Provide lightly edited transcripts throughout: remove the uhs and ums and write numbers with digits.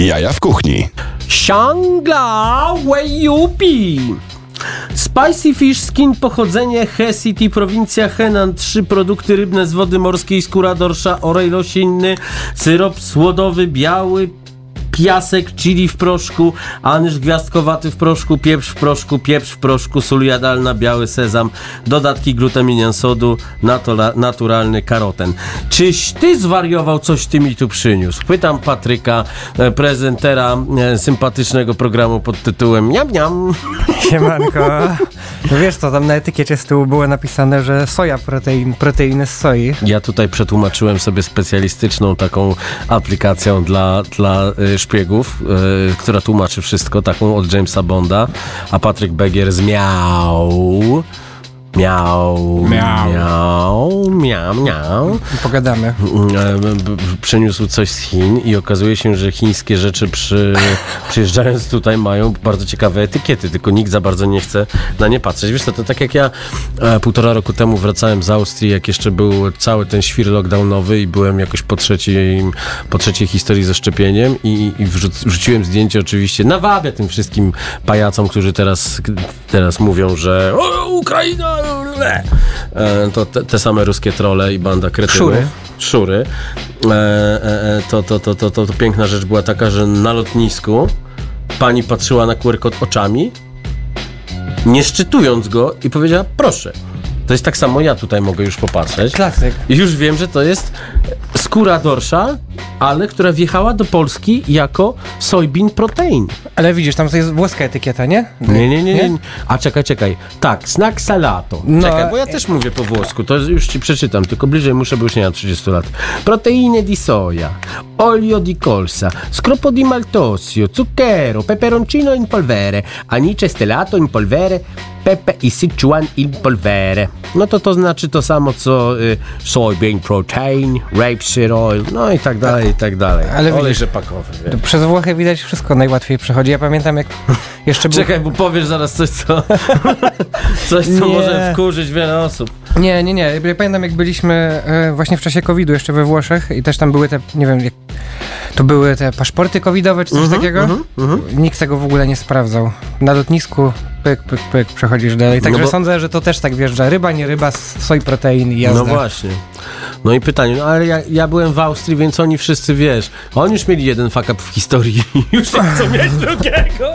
Jaja w kuchni. Shangla Weiyupi. Spicy fish skin, pochodzenie He City, prowincja Henan. 3 produkty rybne z wody morskiej, skóra dorsza, olej roślinny, syrop słodowy, biały, piasek, chili w proszku, anyż gwiazdkowaty w proszku, pieprz w proszku, sól jadalna, biały sezam, dodatki glutaminian sodu, naturalny karoten. Czyś ty zwariował, coś ty mi tu przyniósł? Pytam Patryka, prezentera sympatycznego programu pod tytułem Niam Niam. Siemanko. No wiesz co, tam na etykiecie z tyłu było napisane, że soja, proteiny z soi. Ja tutaj przetłumaczyłem sobie specjalistyczną taką aplikacją dla szpiegów, która tłumaczy wszystko, taką od Jamesa Bonda, a Patryk Begier z miau. Pogadamy. Przyniósł coś z Chin i okazuje się, że chińskie rzeczy przyjeżdżając tutaj mają bardzo ciekawe etykiety, tylko nikt za bardzo nie chce na nie patrzeć. Wiesz co, to tak jak ja 1,5 roku temu wracałem z Austrii, jak jeszcze był cały ten świr lockdownowy i byłem jakoś po trzeciej historii ze szczepieniem i wrzuciłem zdjęcie oczywiście, nawabię tym wszystkim pajacom, którzy teraz mówią, że Ukraina! To te same ruskie trolle i banda kretynów. Szury. To piękna rzecz była taka, że na lotnisku pani patrzyła na QR kod oczami, nie szczytując go i powiedziała, proszę. To jest tak samo, ja tutaj mogę już popatrzeć. Klasyk. I już wiem, że to jest skóra dorsza, ale która wjechała do Polski jako soybean protein. Ale widzisz, tam to jest włoska etykieta, nie? Nie. A czekaj. Tak, snack salato. No, czekaj, bo ja też mówię po włosku, to już ci przeczytam, tylko bliżej muszę, bo już nie mam 30 lat. Proteine di soia, olio di colza, scropo di maltosio, zucchero, peperoncino in polvere, anice stellato in polvere, pepe i Sichuan in polvere. No to znaczy to samo, co soybean protein, rapeseed oil, no i tak dalej. Ale olej widzisz, rzepakowy. Wie. Przez Włochy widać wszystko najłatwiej przechodzi. Ja pamiętam, jak jeszcze był... Czekaj, bo powiesz zaraz coś, co może wkurzyć wiele osób. Nie. Ja pamiętam, jak byliśmy właśnie w czasie COVID-u jeszcze we Włoszech i też tam były te, nie wiem, to były te paszporty covidowe czy coś takiego. Nikt tego w ogóle nie sprawdzał. Na lotnisku pyk, przechodzisz dalej. Także sądzę, że to też tak wjeżdża. Ryba, nie ryba, soj, protein i jazda. No właśnie. No i pytanie, no ale ja byłem w Austrii, więc oni wszyscy, wiesz, oni już mieli jeden fuck up w historii i już nie chcą mieć drugiego.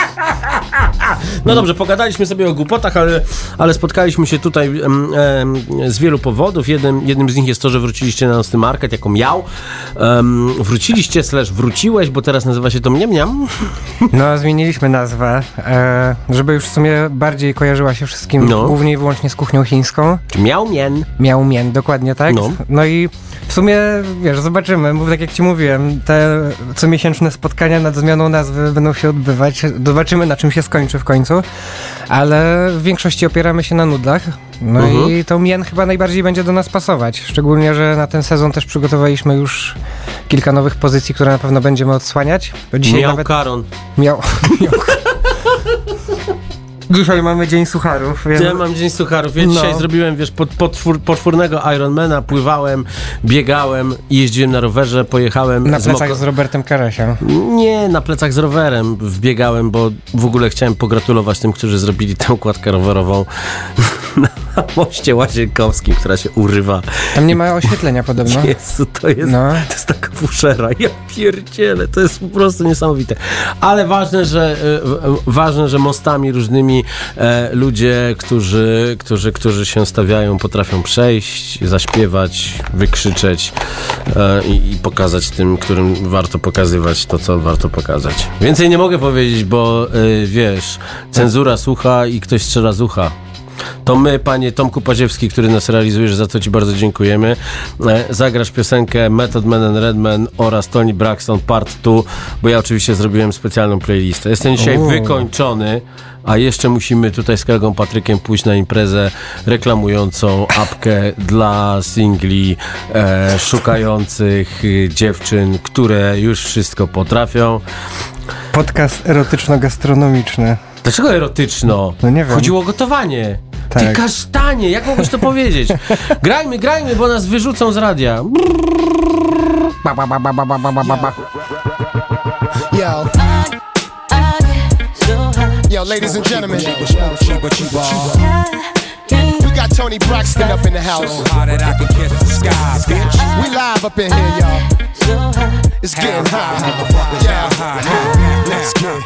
No dobrze, pogadaliśmy sobie o głupotach, ale spotkaliśmy się tutaj z wielu powodów. Jednym z nich jest to, że wróciliście na Nocny Market jako miał. Wróciliście / wróciłeś, bo teraz nazywa się to Mniam. No, zmieniliśmy nazwę, żeby już w sumie bardziej kojarzyła się wszystkim, głównie i wyłącznie z kuchnią chińską. Miał Mien, dokładnie tak. No i w sumie, wiesz, zobaczymy, bo tak jak ci mówiłem, te comiesięczne spotkania nad zmianą nazwy będą się odbywać. Zobaczymy, na czym się skończy w końcu, ale w większości opieramy się na nudlach. No i to Mien chyba najbardziej będzie do nas pasować. Szczególnie, że na ten sezon też przygotowaliśmy już kilka nowych pozycji, które na pewno będziemy odsłaniać. Bo dzisiaj Karon. Dzisiaj mamy Dzień Sucharów. Ja mam Dzień Sucharów. Ja dzisiaj zrobiłem, wiesz, potwornego Ironmana, pływałem, biegałem, jeździłem na rowerze, pojechałem... Na plecach z Robertem Karasiem. Nie, na plecach z rowerem wbiegałem, bo w ogóle chciałem pogratulować tym, którzy zrobili tę układkę rowerową na moście Łazienkowskim, która się urywa. Tam nie ma oświetlenia podobno. Jezu, to jest taka fuszera. Ja pierdzielę, to jest po prostu niesamowite. Ale ważne, że mostami różnymi ludzie, którzy się stawiają, potrafią przejść, zaśpiewać, wykrzyczeć i pokazać tym, którym warto pokazywać to, co warto pokazać. Więcej nie mogę powiedzieć, bo wiesz, cenzura słucha i ktoś strzela z ucha. To my, panie Tomku Paziewski, który nas realizujesz, za co ci bardzo dziękujemy. Zagrasz piosenkę Method Man and Redman oraz Toni Braxton Part 2, bo ja oczywiście zrobiłem specjalną playlistę. Jestem dzisiaj wykończony, a jeszcze musimy tutaj z kolegą Patrykiem pójść na imprezę reklamującą apkę dla singli szukających dziewczyn, które już wszystko potrafią. Podcast erotyczno-gastronomiczny. Dlaczego erotyczno? No nie wiem. Chodziło o gotowanie. Tak. Ty kasztanie, jak mogłeś to powiedzieć? Grajmy, bo nas wyrzucą z radia. Yo. Yo, ladies and gentlemen, we got Tony Braxton up in the house. So hot that I can kiss the sky, bitch. We live up in here, y'all. It's getting hot. Yeah. Let's get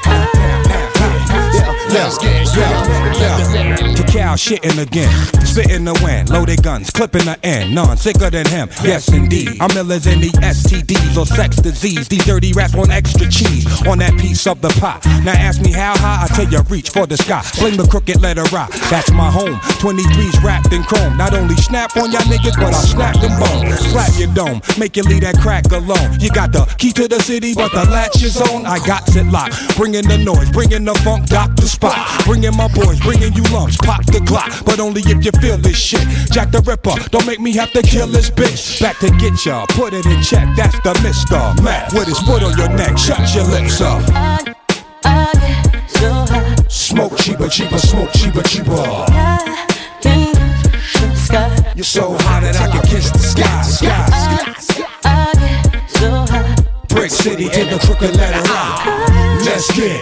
Cacao shitting again, spitting the wind, loaded guns, clipping the end, none sicker than him. Yes indeed, I'm illers in the STDs or sex disease. These dirty rats want extra cheese on that piece of the pie. Now ask me how high, I tell you reach for the sky. Fling the crooked letter rock, that's my home. 23's wrapped in chrome. Not only snap on y'all niggas, but I'll snap them bones. Slap your dome, make you leave that crack alone. You got the key to the city, but the latch is on. I got it locked, bringing the noise, bringing the funk, Dr. Spot. Bringing my boys, bringing you lumps, pop the Glock, but only if you feel this shit. Jack the Ripper, don't make me have to kill this bitch. Back to get ya, put it in check, that's the Mr. Mac. With his foot on your neck, shut your lips up. Smoke cheaper, cheaper, smoke cheaper, cheaper. You're so hot that I can kiss the sky. Brick City to the crooked letter rock. Let's get.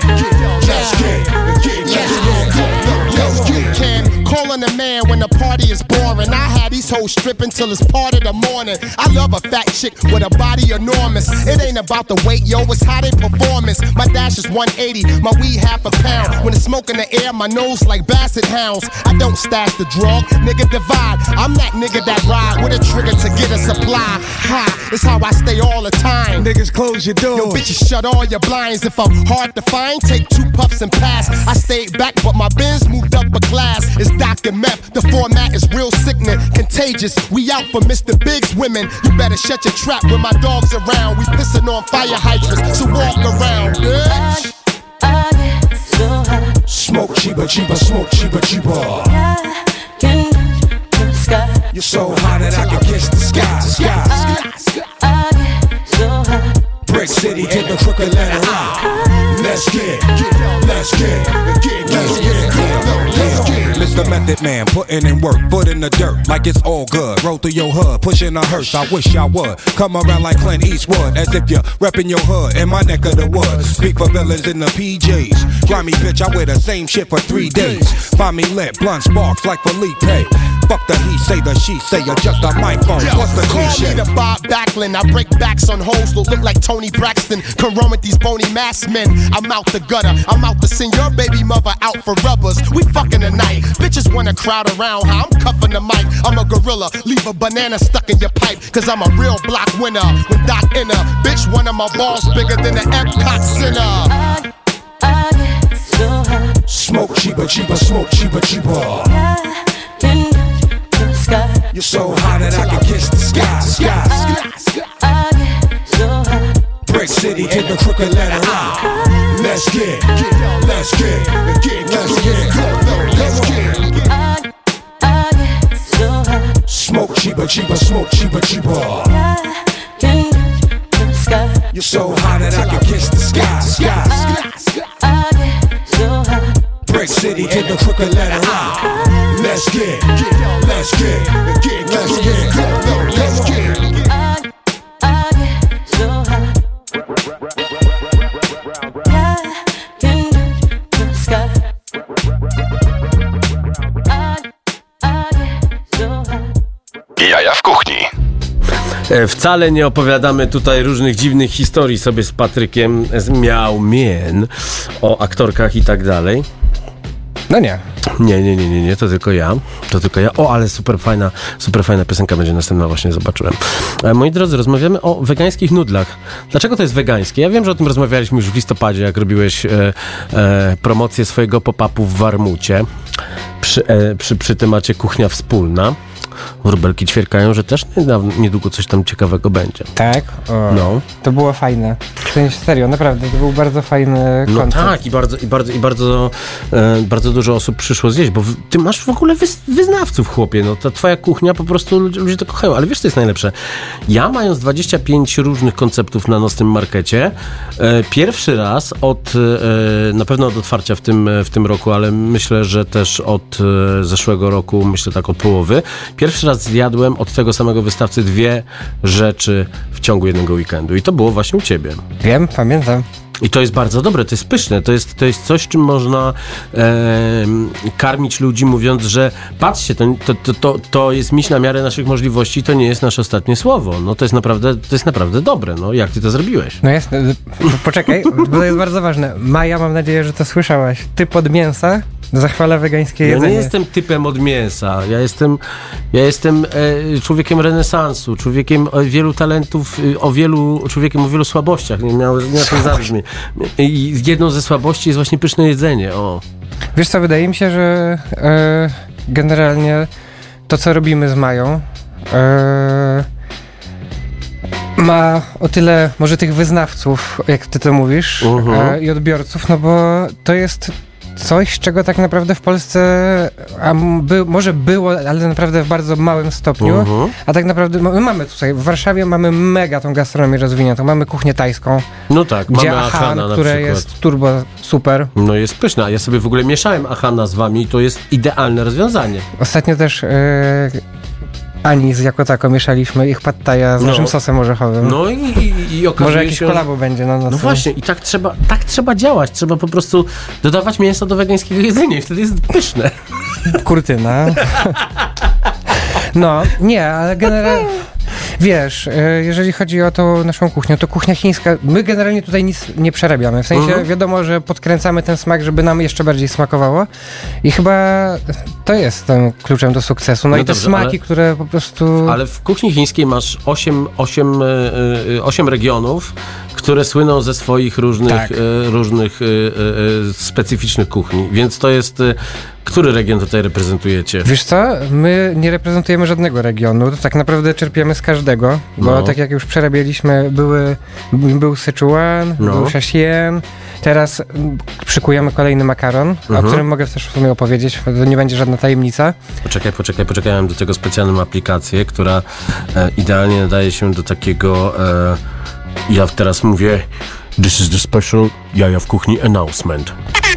Calling a man when the party is boring. I had these hoes stripping till it's part of the morning. I love a fat chick with a body enormous. It ain't about the weight, yo, it's how they performance. My dash is 180, my weed half a pound. When it's smoke in the air, my nose like basset hounds. I don't stash the drug, nigga divide. I'm that nigga that ride with a trigger to get a supply. Ha, it's how I stay all the time. Niggas close your doors. Yo, bitches shut all your blinds. If I'm hard to find, take 2 puffs and pass. I stayed back, but my Benz moved up a class. It's Dr. Meth, the format is real sickening, contagious. We out for Mr. Big's women. You better shut your trap when my dog's around. We pissing on fire hydrants, so walk around, bitch. Smoke cheaper, cheaper, smoke cheaper, cheaper. You're so hot that I can kiss the sky. Brick City to the crooked letter rock. Let's get. Mr. Method Man, putting in work, foot in the dirt, like it's all good. Roll through your hood, pushing a hearse. I wish I would come around like Clint Eastwood, as if you're repping your hood in my neck of the woods. Speak for villains in the PJs. Grimy bitch, I wear the same shit for 3 days. Find me lit, blunt sparks like Felipe. Fuck the he say, the she say, adjust the microphone. What's the cliche? Call me the Bob Backlund. I break backs on hoes that look like Tony Braxton. Come run with these bony masked men. I'm out the gutter. I'm out to send your baby mother out for rubbers. We fucking tonight. Bitches wanna crowd around how I'm cuffing the mic. I'm a gorilla. Leave a banana stuck in your pipe. Cause I'm a real block winner. With Doc Inner. Bitch, one of my balls bigger than the Epcot Center. Smoke cheaper, cheaper, smoke cheaper, cheaper. You're so hot that I can kiss the sky. Brick City to the crooked letter rock. Let's get. Smoke cheaper, cheaper, smoke cheaper, cheaper. You're so hot that I can kiss the sky. Brick City to the crooked letter rock. Let's get. Jaja w kuchni. Wcale nie opowiadamy tutaj różnych dziwnych historii sobie z Patrykiem z Miał Mien o aktorkach i tak dalej. No nie. Nie, to tylko ja. O, ale super fajna piosenka będzie następna, właśnie zobaczyłem. Moi drodzy, rozmawiamy o wegańskich nudlach. Dlaczego to jest wegańskie? Ja wiem, że o tym rozmawialiśmy już w listopadzie, jak robiłeś promocję swojego pop-upu w Warmucie przy temacie kuchnia wspólna. Wróbelki ćwierkają, że też niedługo coś tam ciekawego będzie. Tak? No. To było fajne. W sensie serio, naprawdę, to był bardzo fajny koncept. No tak, bardzo dużo osób przyszło zjeść, bo ty masz w ogóle wyznawców, chłopie. No ta twoja kuchnia, po prostu ludzie to kochają. Ale wiesz, co jest najlepsze? Ja, mając 25 różnych konceptów na nocnym markecie, pierwszy raz na pewno od otwarcia w tym roku, ale myślę, że też od zeszłego roku, myślę tak od połowy, pierwszy raz zjadłem od tego samego wystawcy 2 rzeczy w ciągu jednego weekendu. I to było właśnie u ciebie. Wiem, pamiętam. I to jest bardzo dobre, to jest pyszne, to jest coś, czym można karmić ludzi, mówiąc, że patrzcie, to jest miś na miarę naszych możliwości, to nie jest nasze ostatnie słowo. No to jest naprawdę dobre. No jak ty to zrobiłeś? No jasne, poczekaj, bo to jest bardzo ważne. Maja, mam nadzieję, że to słyszałaś. Typ od mięsa zachwala wegańskie jedzenie. Ja nie jestem typem od mięsa. Ja jestem człowiekiem renesansu, człowiekiem wielu talentów, człowiekiem o wielu słabościach. Nie to zabrzmi. I jedną ze słabości jest właśnie pyszne jedzenie. O. Wiesz co, wydaje mi się, że generalnie to, co robimy z Mają, ma o tyle może tych wyznawców, jak ty to mówisz, i odbiorców, no bo to jest coś, czego tak naprawdę w Polsce może było, ale naprawdę w bardzo małym stopniu, a tak naprawdę mamy tutaj, w Warszawie mamy mega tą gastronomię rozwiniętą, mamy kuchnię tajską. No tak, gdzie mamy Ahana, które jest turbo super. No jest pyszna, ja sobie w ogóle mieszałem Ahana z wami i to jest idealne rozwiązanie. Ostatnio też anis jako tako mieszaliśmy ich pad thaja z naszym sosem orzechowym. No i okazuje może jakieś kolabo będzie na nas. No właśnie, i tak trzeba działać. Trzeba po prostu dodawać mięso do wegańskiego jedzenia i wtedy jest pyszne. Kurtyna. No, nie, ale generalnie wiesz, jeżeli chodzi o tą naszą kuchnię, to kuchnia chińska, my generalnie tutaj nic nie przerabiamy. W sensie wiadomo, że podkręcamy ten smak, żeby nam jeszcze bardziej smakowało i chyba to jest tym kluczem do sukcesu. No i te dobrze, smaki, które po prostu... Ale w kuchni chińskiej masz 8 regionów, które słyną ze swoich różnych specyficznych kuchni, więc to jest... Który region tutaj reprezentujecie? Wiesz co? My nie reprezentujemy żadnego regionu. To tak naprawdę czerpiemy z każdego, bo tak jak już przerabialiśmy, był Sichuan, był Xiaxian. Teraz szykujemy kolejny makaron, o którym mogę też w sumie opowiedzieć, to nie będzie żadna tajemnica. Poczekaj, mam do tego specjalną aplikację, która idealnie nadaje się do takiego... ja teraz mówię This is the special Jaja w kuchni announcement.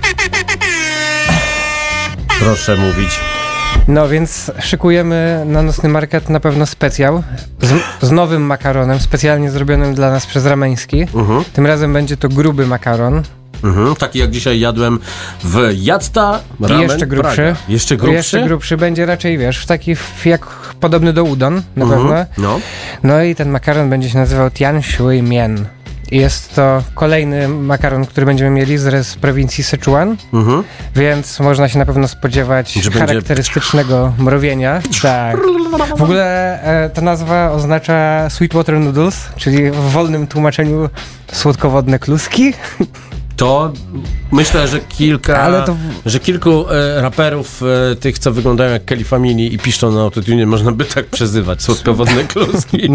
Proszę mówić. No więc szykujemy na Nocny Market na pewno specjał z nowym makaronem, specjalnie zrobionym dla nas przez Rameński. Tym razem będzie to gruby makaron. Taki jak dzisiaj jadłem w Jacta Ramen. I jeszcze grubszy. Praga. Jeszcze grubszy będzie raczej, wiesz, taki jak podobny do udon na pewno. No i ten makaron będzie się nazywał Tian Shui Mian. Jest to kolejny makaron, który będziemy mieli z prowincji Sichuan, więc można się na pewno spodziewać charakterystycznego mrowienia. Tak. W ogóle ta nazwa oznacza Sweetwater Noodles, czyli w wolnym tłumaczeniu słodkowodne kluski. To myślę, że kilku raperów, tych co wyglądają jak Kelly Family i piszczą na autotune, można by tak przezywać, słodkowodne kluski.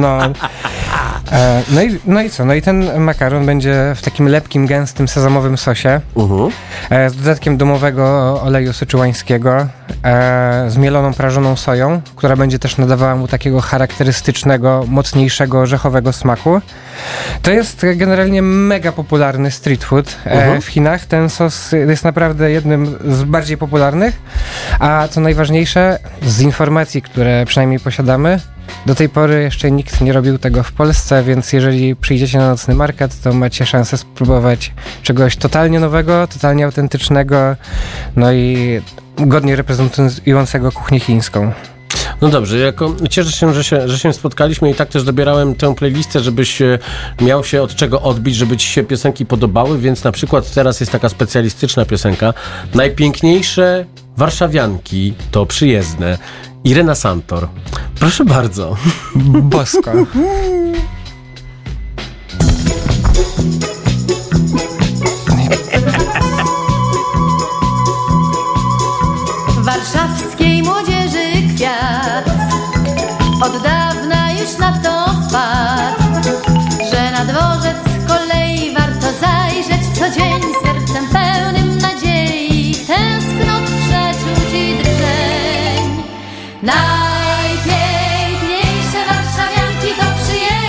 No i co? No i ten makaron będzie w takim lepkim, gęstym, sezamowym sosie z dodatkiem domowego oleju syczuańskiego, z mieloną, prażoną soją, która będzie też nadawała mu takiego charakterystycznego, mocniejszego, orzechowego smaku. To jest generalnie mega popularny street food w Chinach. Ten sos jest naprawdę jednym z bardziej popularnych, a co najważniejsze, z informacji, które przynajmniej posiadamy, do tej pory jeszcze nikt nie robił tego w Polsce, więc jeżeli przyjdziecie na Nocny Market, to macie szansę spróbować czegoś totalnie nowego, totalnie autentycznego, no i godnie reprezentującego kuchnię chińską. No dobrze, cieszę się, że się spotkaliśmy i tak też dobierałem tę playlistę, żebyś miał się od czego odbić, żeby ci się piosenki podobały, więc na przykład teraz jest taka specjalistyczna piosenka. Najpiękniejsze warszawianki to przyjezdne. Irena Santor. Proszę bardzo. Bosko. Warszawskiej młodzieży kwiat od dawna już na to wpadł, że na dworzec kolei warto zajrzeć co dzień sercem pełnym nadziei, tęsknot, przeczuć i drżeń. Najpiękniejsze warszawianki to przyjeżdża.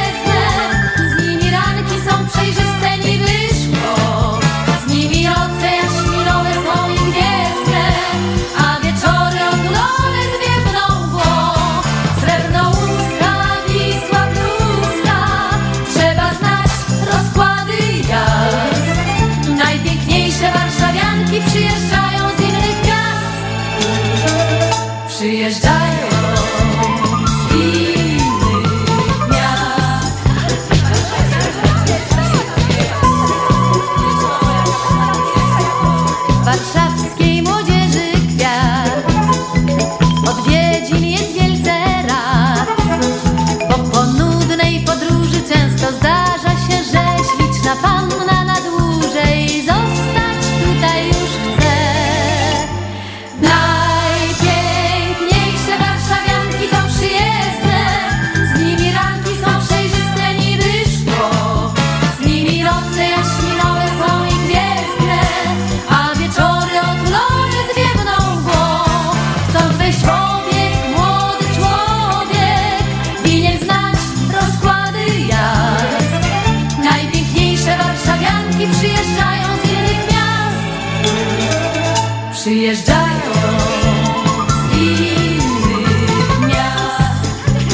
przyjeżdżają z innych miast.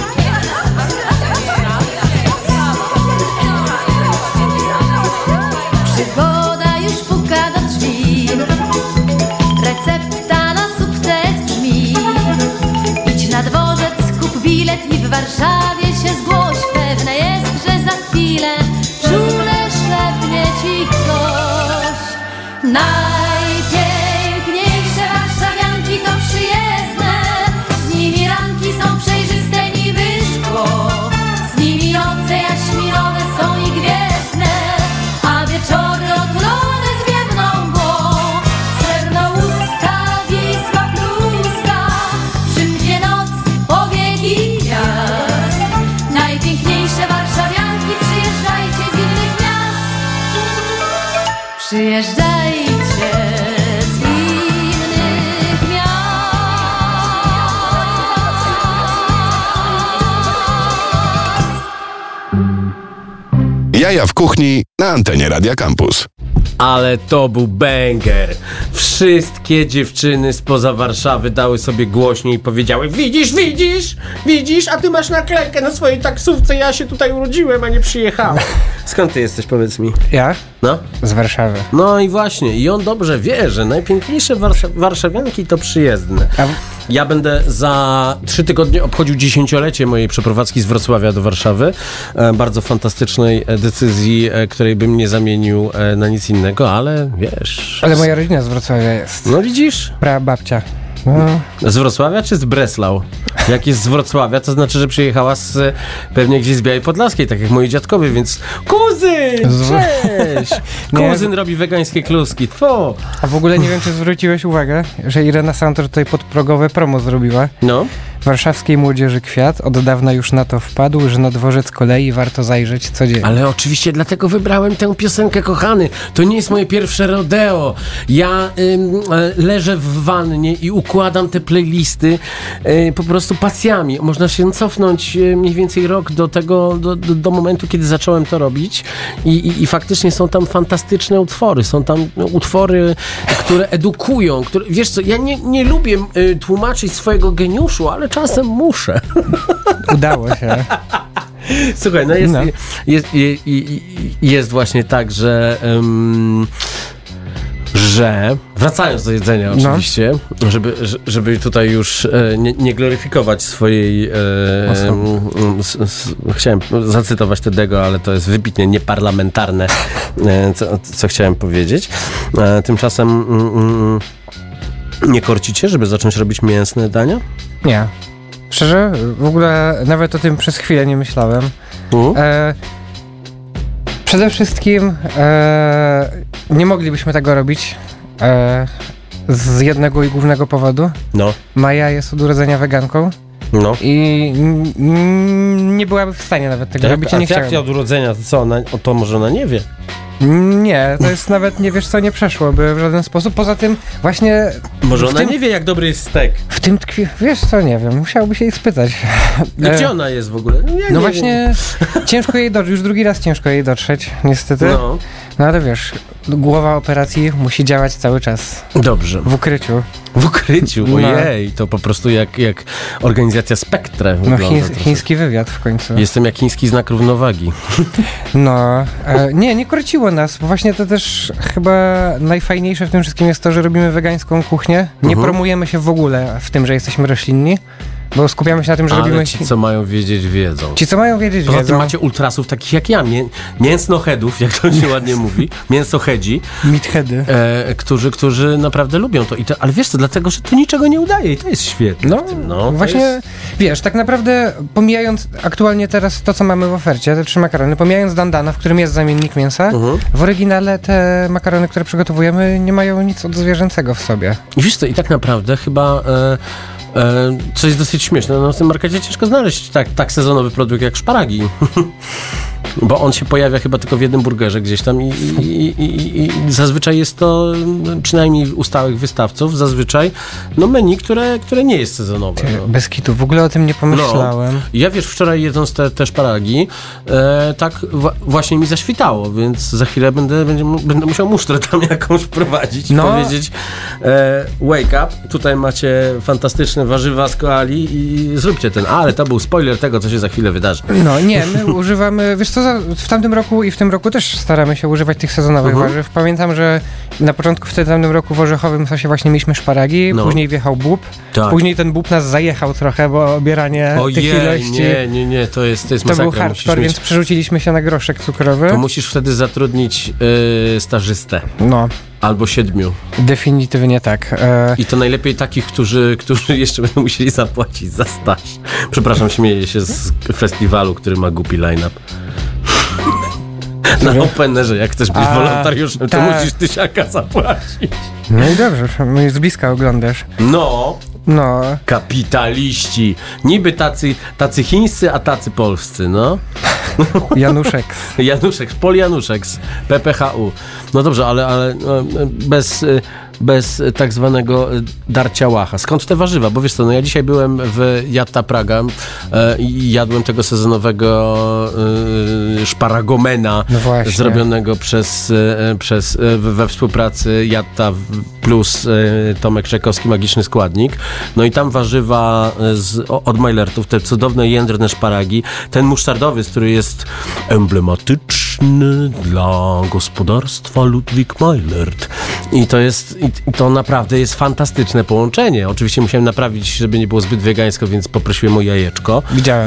Przygoda już puka do drzwi, recepta na sukces brzmi. Idź na dworzec, kup bilet i w Warszawie się zgłoś. Pewne jest, że za chwilę czule szepnie ci ktoś. Najpiękniejsze warszawianki to przyjezdne, z nimi ranki są przejrzyste niby szkło, z nimi noce jaśminowe są i gwiezdne, a wieczory otulone zwiewną mgłą. Srebrnousta, Wisła pluska, przymknie noc powieki gwiazd. Najpiękniejsze warszawianki, przyjeżdżajcie z innych miast. Przyjeżdżajcie z innych miast. Jaja w kuchni na antenie Radia Campus. Ale to był banger. Wszystkie dziewczyny spoza Warszawy dały sobie głośniej i powiedziały: widzisz, a ty masz naklejkę na swojej taksówce, ja się tutaj urodziłem, a nie przyjechałem. Skąd ty jesteś, powiedz mi? Ja? No? Z Warszawy. No i właśnie, i on dobrze wie, że najpiękniejsze warszawianki to przyjezdne. Ja będę za 3 tygodnie obchodził 10-lecie mojej przeprowadzki z Wrocławia do Warszawy. Bardzo fantastycznej decyzji, której bym nie zamienił na nic innego, ale wiesz... Ale moja rodzina z Wrocławia jest. No widzisz? Prababcia. No. Z Wrocławia czy z Breslau? Jak jest z Wrocławia, to znaczy, że przyjechała pewnie gdzieś z Białej Podlaskiej, tak jak moi dziadkowie, więc kuzyn, cześć! Kuzyn robi wegańskie kluski, tfu! A w ogóle nie wiem, czy zwróciłeś uwagę, że Irena Santor tutaj podprogowe promo zrobiła. No. Warszawskiej młodzieży kwiat od dawna już na to wpadł, że na dworzec kolei warto zajrzeć codziennie. Ale oczywiście dlatego wybrałem tę piosenkę, kochany. To nie jest moje pierwsze rodeo. Ja leżę w wannie i układam te playlisty po prostu pasjami. Można się cofnąć mniej więcej rok do tego, do momentu, kiedy zacząłem to robić i faktycznie są tam fantastyczne utwory. Są tam utwory, które edukują, które, wiesz co, ja nie lubię tłumaczyć swojego geniuszu, ale czasem muszę. Udało się. Słuchaj, no jest właśnie tak, że wracając do jedzenia oczywiście, żeby tutaj już nie gloryfikować swojej chciałem zacytować Tedego, ale to jest wybitnie nieparlamentarne, co chciałem powiedzieć. Tymczasem nie korcicie, żeby zacząć robić mięsne dania? Nie. Szczerze, w ogóle nawet o tym przez chwilę nie myślałem. Przede wszystkim nie moglibyśmy tego robić z jednego i głównego powodu. No. Maja jest od urodzenia weganką. No. I nie byłaby w stanie nawet tego robić. A jak od urodzenia, to co? To może ona nie wie? Nie, to jest nawet, nie wiesz co, nie przeszłoby w żaden sposób. Poza tym właśnie... Może ona nie wie, jak dobry jest stek. W tym tkwi... Wiesz co, nie wiem, musiałby się jej spytać. Gdzie ona jest w ogóle? No właśnie, ciężko jej dotrzeć, już drugi raz ciężko jej dotrzeć, niestety. No ale wiesz, głowa operacji musi działać cały czas. Dobrze. W ukryciu. W ukryciu? Ojej, to po prostu jak organizacja Spektre wygląda. No chiński wywiad w końcu. Jestem jak chiński znak równowagi. No, nie korciło nas, bo właśnie to też chyba najfajniejsze w tym wszystkim jest to, że robimy wegańską kuchnię. Nie promujemy się w ogóle w tym, że jesteśmy roślinni. Bo skupiamy się na tym, że robimy... ci, co mają wiedzieć, wiedzą. Ci, co mają wiedzieć, wiedzą. Poza tym macie ultrasów takich jak ja, mięsnoheadów, jak to się ładnie mówi, mięsohedzi. Meatheady. Którzy naprawdę lubią to. Ale wiesz co, dlatego, że to niczego nie udaje i to jest świetne. Właśnie, wiesz, tak naprawdę pomijając aktualnie teraz to, co mamy w ofercie, te 3 makarony, pomijając dandana, w którym jest zamiennik mięsa, w oryginale te makarony, które przygotowujemy, nie mają nic od zwierzęcego w sobie. I wiesz co, i tak naprawdę chyba... co jest dosyć śmieszne, w tym markecie ciężko znaleźć tak sezonowy produkt jak szparagi. Bo on się pojawia chyba tylko w jednym burgerze gdzieś tam i zazwyczaj jest to, przynajmniej u stałych wystawców, zazwyczaj menu, które nie jest sezonowe. Bez kitu, w ogóle o tym nie pomyślałem. Ja wiesz, wczoraj jedząc te szparagi, tak właśnie mi zaświtało, więc za chwilę będę musiał musztrę tam jakąś wprowadzić i powiedzieć wake up, tutaj macie fantastyczne warzywa z koali i zróbcie ten, ale to był spoiler tego, co się za chwilę wydarzy. No nie, my używamy, wiesz co, w tamtym roku i w tym roku też staramy się używać tych sezonowych warzyw. Pamiętam, że na początku w tamtym roku w orzechowym sosie właśnie mieliśmy szparagi, później wjechał bób, później ten bób nas zajechał trochę, bo obieranie tych ilości... Nie, to jest masakra. To był hardcore, więc przerzuciliśmy się na groszek cukrowy. To musisz wtedy zatrudnić stażystę. No. Albo 7. Definitywnie tak. I to najlepiej takich, którzy jeszcze będą musieli zapłacić za staż. Przepraszam, śmieję się z festiwalu, który ma głupi line-up. Na Openerze, jak chcesz być wolontariuszem, to musisz 1000 zapłacić. No i dobrze, z bliska oglądasz. No. Kapitaliści. Niby tacy chińscy, a tacy polscy, no. Januszek, Pol Januszek z PPHU. No dobrze, ale bez tak zwanego darcia łacha. Skąd te warzywa? Bo wiesz co, ja dzisiaj byłem w Jatta Praga i jadłem tego sezonowego szparagomena zrobionego we współpracy Jatta plus Tomek Czajkowski, Magiczny Składnik. No i tam warzywa od Majlertów, te cudowne jędrne szparagi, ten musztardowy, który jest emblematyczny dla gospodarstwa Ludwik Majlert. I to naprawdę jest fantastyczne połączenie. Oczywiście musiałem naprawić, żeby nie było zbyt wegańsko, więc poprosiłem o jajeczko. Widziałem.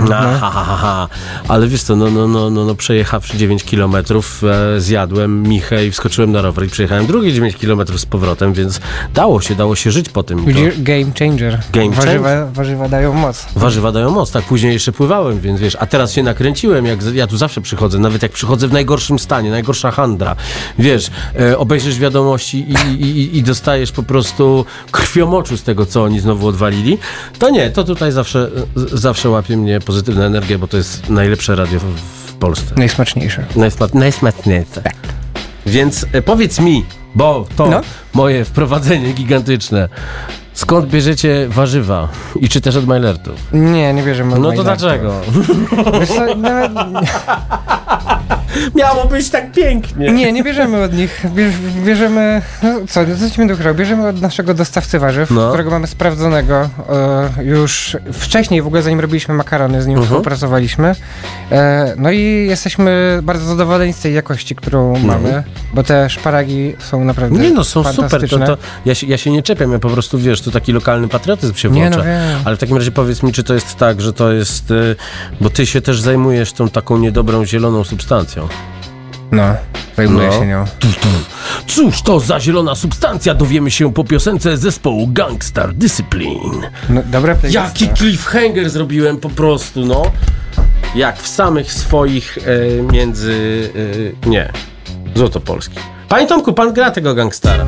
Ale wiesz co, przejechawszy 9 kilometrów, zjadłem michę i wskoczyłem na rower i przejechałem drugie 9 kilometrów z powrotem, więc dało się żyć po tym. Game changer. Warzywa dają moc. Warzywa dają moc, tak. Później jeszcze pływałem, więc wiesz, a teraz się nakręciłem, jak ja tu zawsze przychodzę, nawet jak przychodzę w najgorszym stanie, najgorsza handra. Wiesz, obejrzysz wiadomości i dostajesz po prostu krwiomoczu z tego, co oni znowu odwalili, to nie, to tutaj zawsze łapie mnie pozytywna energia, bo to jest najlepsze radio w Polsce. Najsmaczniejsze. Najsmaczniejsze. Tak. Więc powiedz mi, bo to moje wprowadzenie gigantyczne, skąd bierzecie warzywa? I czy też od Majlertów? Nie bierzemy od Majlertów. No to dlaczego? Wiesz co, nawet... Miało być tak pięknie. Nie bierzemy od nich. Bierzemy... co ci będę ukrył? Bierzemy od naszego dostawcy warzyw, którego mamy sprawdzonego już wcześniej, w ogóle zanim robiliśmy makarony, z nim współpracowaliśmy. No i jesteśmy bardzo zadowoleni z tej jakości, którą mamy, bo te szparagi są naprawdę są fantastyczne. Super. Ja się nie czepiam, ja po prostu, wiesz, to taki lokalny patriotyzm się włącza. Ale w takim razie powiedz mi, czy to jest tak, że to jest... bo ty się też zajmujesz tą taką niedobrą zieloną substancją. Zajmuję się nią. Cóż to za zielona substancja? Dowiemy się po piosence zespołu Gangstar Discipline. Dobra playlista. Jaki cliffhanger zrobiłem po prostu, jak w samych swoich Złotopolski. Panie Tomku, pan gra tego gangstara.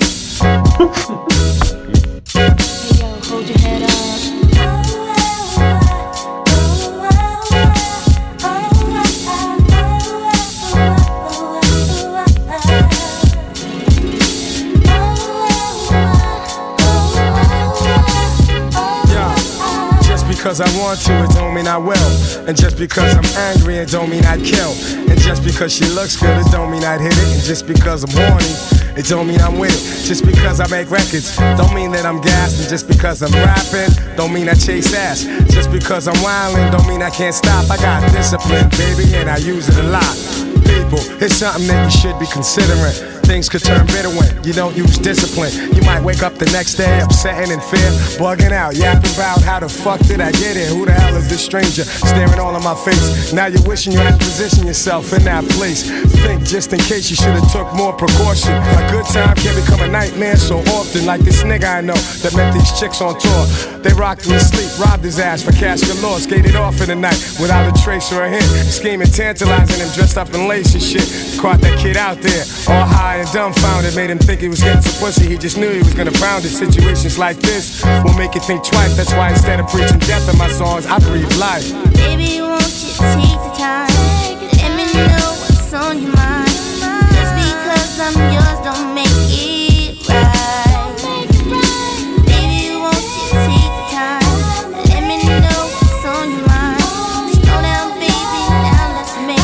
Because I want to, it don't mean I will. And just because I'm angry, it don't mean I'd kill. And just because she looks good, it don't mean I'd hit it. And just because I'm horny, it don't mean I'm with it. Just because I make records, don't mean that I'm gassed. And just because I'm rapping, don't mean I chase ass. Just because I'm wildin', don't mean I can't stop. I got discipline, baby, and I use it a lot. People, it's something that you should be considering. Things could turn bitter when you don't use discipline. You might wake up the next day upset and in fear, bugging out, yapping about how the fuck did I get here? Who the hell is this stranger staring all in my face? Now you're wishing you had positioned yourself in that place. Think just in case you should have took more precaution. A good time can become a nightmare so often. Like this nigga I know that met these chicks on tour. They rocked him to sleep, robbed his ass for cash galore, skated off in the night without a trace or a hint. Scheming, tantalizing him, dressed up in lace and shit. Caught that kid out there, all high and dumbfounded. Made him think he was getting some pussy, he just knew he was gonna pound it. Situations like this will make you think twice. That's why instead of preaching death in my songs, I breathe life. Baby, won't you take the time? know what's on your mind. Just because I'm yours don't make it right. Baby, won't you take the time? Let me know what's on your mind. Slow down, baby, now let's make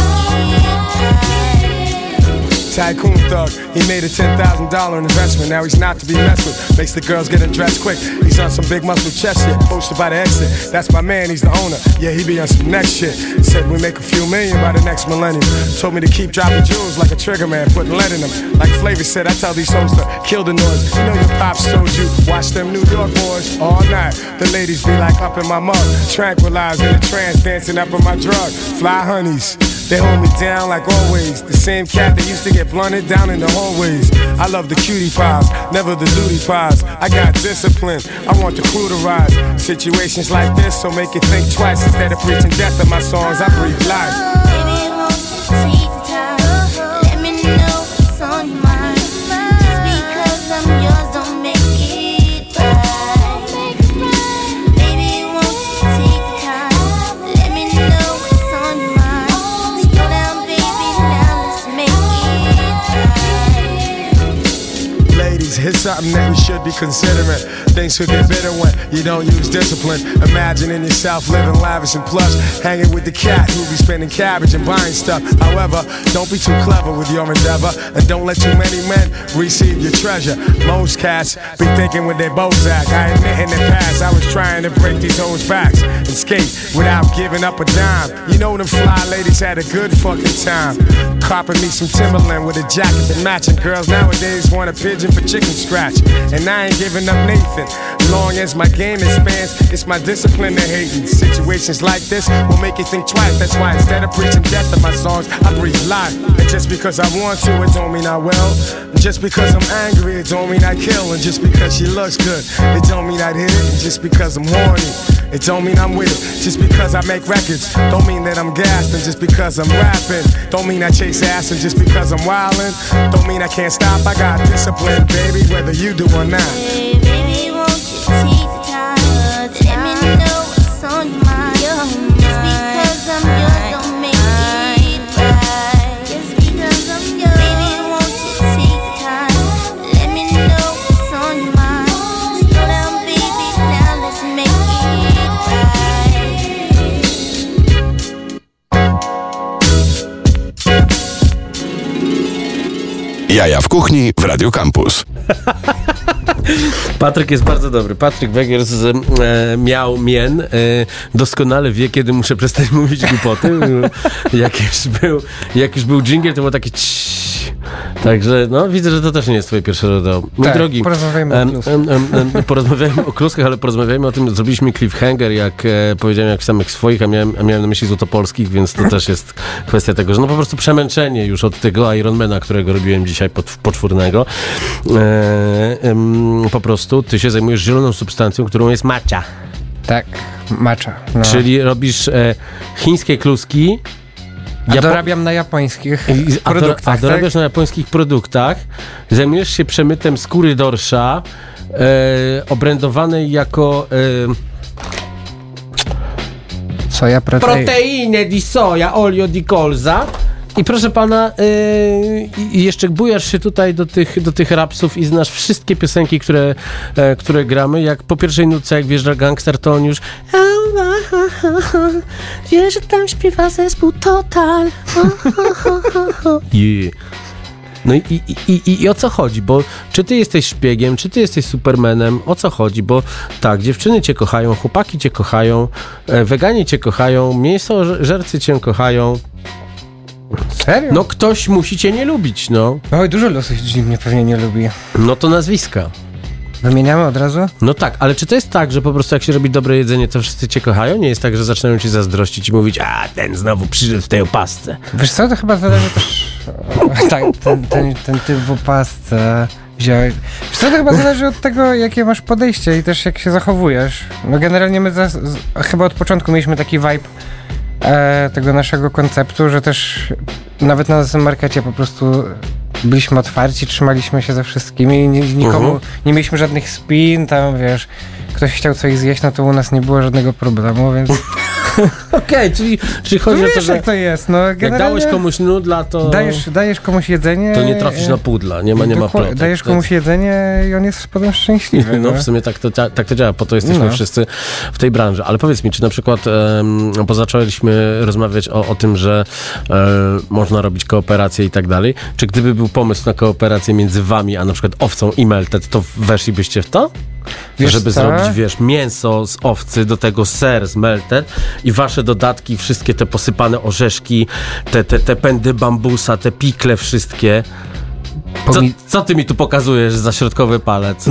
it right. Tycoon thug, he made a $10,000 investment. Now he's not to be messed with. Makes the girls get undressed quick. He's on some big muscle chest shit, posted by the exit. That's my man, he's the owner. Yeah, he be on some next shit. Said we make a few million by the next millennium. Told me to keep dropping jewels like a trigger man, putting lead in them. Like Flavor said, I tell these hoes to kill the noise. You know your pops told you, watch them New York boys all night. The ladies be like up in my mug, tranquilized in a trance, dancing up in my drug. Fly honeys. They hold me down like always. The same cat that used to get blunted down in the hallways. I love the cutie pies, never the duty pies. I got discipline, I want the crew to rise. Situations like this, so make you think twice. Instead of preaching death in my songs, I breathe life. Baby, won't you take the time? Let me know what's on your mind. Just because I'm yours don't make it right. Baby, won't you take the time? Let me know what's on your mind. Slow down, baby, now let's make it right. Ladies, here's something that we should be considering. Things could get bitter when you don't use discipline. Imagining yourself living lavish and plush, hanging with the cat who be spending cabbage and buying stuff. However, don't be too clever with your endeavor, and don't let too many men receive your treasure. Most cats be thinking with their Bozak. I admit in the past I was trying to break these hoes' backs and skate without giving up a dime. You know them fly ladies had a good fucking time. Copping me some Timberland with a jacket that matching. Girls nowadays want a pigeon for chicken scratch, and I ain't giving up Nathan. Long as my game expands, it's my discipline to hating. Situations like this will make you think twice. That's why instead of preaching death in my songs, I breathe life. And just because I want to, it don't mean I will. And just because I'm angry, it don't mean I kill. And just because she looks good, it don't mean I'd hit it. And just because I'm horny, it don't mean I'm with it. Just because I make records, don't mean that I'm gassed. And just because I'm rapping, don't mean I chase ass. And just because I'm wildin', don't mean I can't stop. I got discipline, baby, whether you do or not. Hey, baby, won't you take the time? Let me know what's on your mind. Just because I'm yours don't make it right. Just because I'm yours. Baby, won't you take the time? Let me know what's on your mind. Slow down, baby, now let's make it right. Jaja w kuchni w Radio Campus. Patryk jest bardzo dobry. Patryk Węgier miał mien. Doskonale wie, kiedy muszę przestać mówić głupoty. Jak już był dżingiel, to było takie Także no, widzę, że to też nie jest twoje pierwsze rodeo. Mój tak, drogi, porozmawiajmy o kluskach, ale porozmawiajmy o tym, zrobiliśmy cliffhanger, jak powiedziałem, jak samych swoich, a miałem na myśli złotopolskich, więc to też jest kwestia tego, że no po prostu przemęczenie już od tego Ironmana, którego robiłem dzisiaj poczwórnego. Po prostu ty się zajmujesz zieloną substancją, którą jest matcha. Tak, matcha. No. Czyli robisz chińskie kluski. A dorabiam na japońskich produktach. A dorabiasz na japońskich produktach. Zajmujesz się przemytem skóry dorsza, obrędowanej jako soja proteiny di soja, olio di colza. I proszę pana, jeszcze bujasz się tutaj do tych rapsów i znasz wszystkie piosenki, które gramy. Jak po pierwszej nutce, jak wjeżdża gangster, to on już wiesz, że tam śpiewa zespół Total. Yeah. No i o co chodzi? Bo czy ty jesteś szpiegiem, czy ty jesteś supermanem? O co chodzi? Bo tak, dziewczyny cię kochają, chłopaki cię kochają, weganie cię kochają, mięsożercy cię kochają. Serio? No ktoś musi cię nie lubić, no. Oj, dużo ludzi mnie pewnie nie lubi. No to nazwiska. Wymieniamy od razu? No tak, ale czy to jest tak, że po prostu jak się robi dobre jedzenie, to wszyscy cię kochają? Nie jest tak, że zaczynają cię zazdrościć i mówić, a ten znowu przyszedł w tej opasce. Wiesz co, to chyba zależy też... tak, ten typ w opasce wziąłeś. Wiesz co, to chyba zależy od tego, jakie masz podejście i też jak się zachowujesz. No generalnie my chyba od początku mieliśmy taki vibe tego naszego konceptu, że też nawet na naszym markecie po prostu byliśmy otwarci, trzymaliśmy się ze wszystkimi i nikomu, nie mieliśmy żadnych spin, tam wiesz, ktoś chciał coś zjeść, no to u nas nie było żadnego problemu, więc Okej, czyli chodzi o to, że jak to jest, no jak dałeś komuś nudla, to... Dajesz komuś jedzenie... To nie trafisz na pudla, nie ma plotek. Dajesz komuś jedzenie i on jest potem szczęśliwy. No w sumie tak to działa, po to jesteśmy wszyscy w tej branży. Ale powiedz mi, czy na przykład, bo zaczęliśmy rozmawiać o tym, że można robić kooperację i tak dalej, czy gdyby był pomysł na kooperację między wami, a na przykład owcą i Melted, to weszlibyście w to? Żeby zrobić, mięso z owcy, do tego ser z Melted i wasze dodatki, wszystkie te posypane orzeszki, te pędy bambusa, te pikle wszystkie. Co ty mi tu pokazujesz za środkowy palec?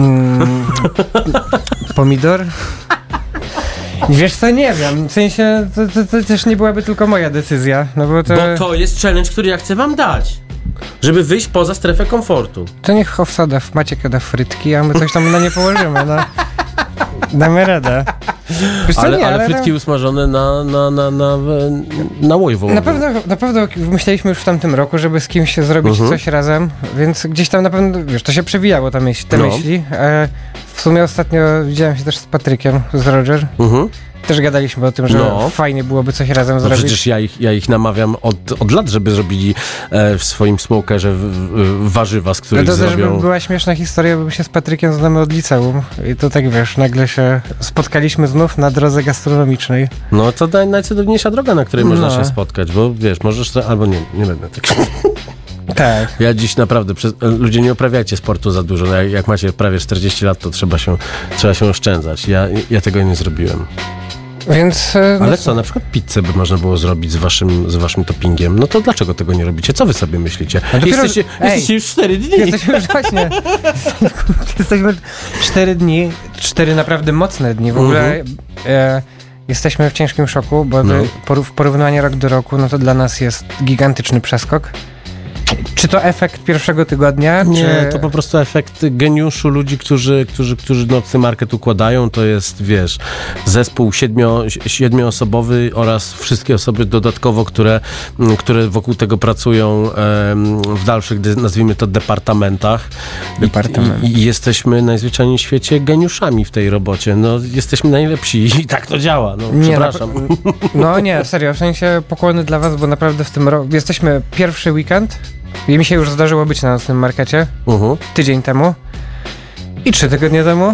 Pomidor? Wiesz co, nie wiem, w sensie to też nie byłaby tylko moja decyzja, no bo to jest challenge, który ja chcę wam dać. Żeby wyjść poza strefę komfortu. To niech owsada Maciek da frytki, a my coś tam na nie położymy, no. Damy radę. Ale frytki usmażone na łoju wołowym. Na pewno myśleliśmy już w tamtym roku, żeby z kimś zrobić coś razem, więc gdzieś tam na pewno, wiesz, to się przewijało te myśli. W sumie ostatnio widziałem się też z Patrykiem, z Roger. Też gadaliśmy o tym, że fajnie byłoby coś razem zrobić. Przecież ja ich namawiam od lat, żeby zrobili w swoim smokerze warzywa, z których zrobią... To też była śmieszna historia, bo my się z Patrykiem znamy od liceum i to tak, wiesz, nagle się spotkaliśmy znów na drodze gastronomicznej. No to najcudowniejsza droga, na której można się spotkać, bo wiesz, możesz... Albo nie będę tak... Tak. Ja dziś naprawdę, ludzie, nie uprawiajcie sportu za dużo. Jak macie prawie 40 lat, to trzeba się oszczędzać. Ja tego nie zrobiłem. Więc, ale co, na przykład pizzę by można było zrobić z waszym toppingiem. No to dlaczego tego nie robicie? Co wy sobie myślicie? Jesteście już 4 dni. Jesteśmy już właśnie. Jesteśmy 4 dni, 4 naprawdę mocne dni. W ogóle jesteśmy w ciężkim szoku, bo w porównaniu rok do roku, no to dla nas jest gigantyczny przeskok. Czy to efekt pierwszego tygodnia? Nie, to po prostu efekt geniuszu ludzi, którzy nocny market układają. To jest, wiesz, zespół 7-osobowy oraz wszystkie osoby dodatkowo, które wokół tego pracują w dalszych, nazwijmy to, departamentach. I jesteśmy najzwyczajniej w świecie geniuszami w tej robocie. No, jesteśmy najlepsi i tak to działa. No, przepraszam. Nie, serio, w sensie pokłony dla was, bo naprawdę w tym roku jesteśmy pierwszy weekend. I mi się już zdarzyło być na nocnym markecie tydzień temu i 3 tygodnie temu.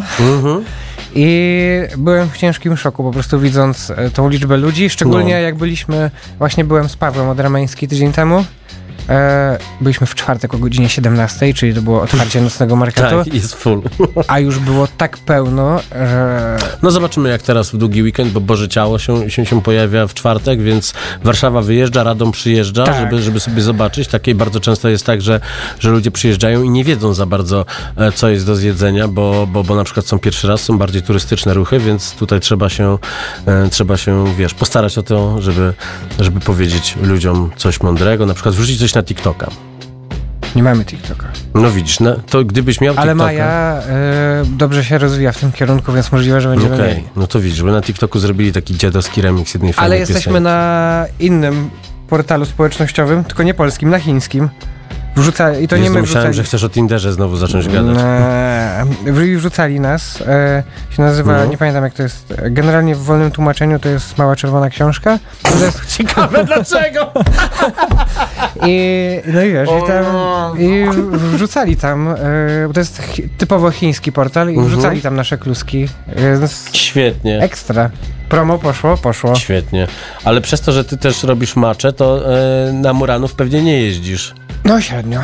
I byłem w ciężkim szoku, po prostu widząc tą liczbę ludzi, szczególnie jak byłem z Pawłem Odramański tydzień temu. Byliśmy w czwartek o godzinie 17, czyli to było otwarcie nocnego marketu. Tak, jest full. A już było tak pełno, że... No zobaczymy jak teraz w długi weekend, bo Boże Ciało się pojawia w czwartek, więc Warszawa wyjeżdża, Radom przyjeżdża, żeby sobie zobaczyć. Takie bardzo często jest tak, że ludzie przyjeżdżają i nie wiedzą za bardzo, co jest do zjedzenia, bo na przykład są pierwszy raz, są bardziej turystyczne ruchy, więc tutaj trzeba się, wiesz, postarać o to, żeby powiedzieć ludziom coś mądrego, na przykład wrzucić coś na TikToka. Nie mamy TikToka. No widzisz, to gdybyś miał TikToka... Ale Maja dobrze się rozwija w tym kierunku, więc możliwe, że będziemy mieli. No to widzisz, bo na TikToku zrobili taki dziadowski remix jednej fajnej piosenki. Ale jesteśmy na innym portalu społecznościowym, tylko nie polskim, na chińskim. I to nie my myślałem, że chcesz o Tinderze znowu zacząć gadać. Wrzucali nas. Się nazywa, nie pamiętam jak to jest. Generalnie w wolnym tłumaczeniu to jest Mała Czerwona Książka. To jest ciekawe dlaczego. I wiesz, i wrzucali tam, bo to jest typowo chiński portal i wrzucali tam nasze kluski. Świetnie. Ekstra. Promo poszło. Świetnie. Ale przez to, że ty też robisz macze, to na Muranów pewnie nie jeździsz. No średnio.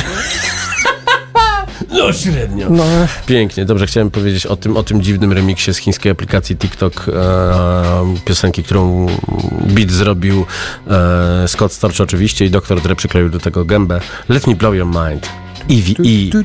No średnio. No. Pięknie. Dobrze, chciałem powiedzieć o tym dziwnym remiksie z chińskiej aplikacji TikTok, piosenki, którą beat zrobił Scott Storch oczywiście i Dr. Dre przykleił do tego gębę. Let me blow your mind. EVE.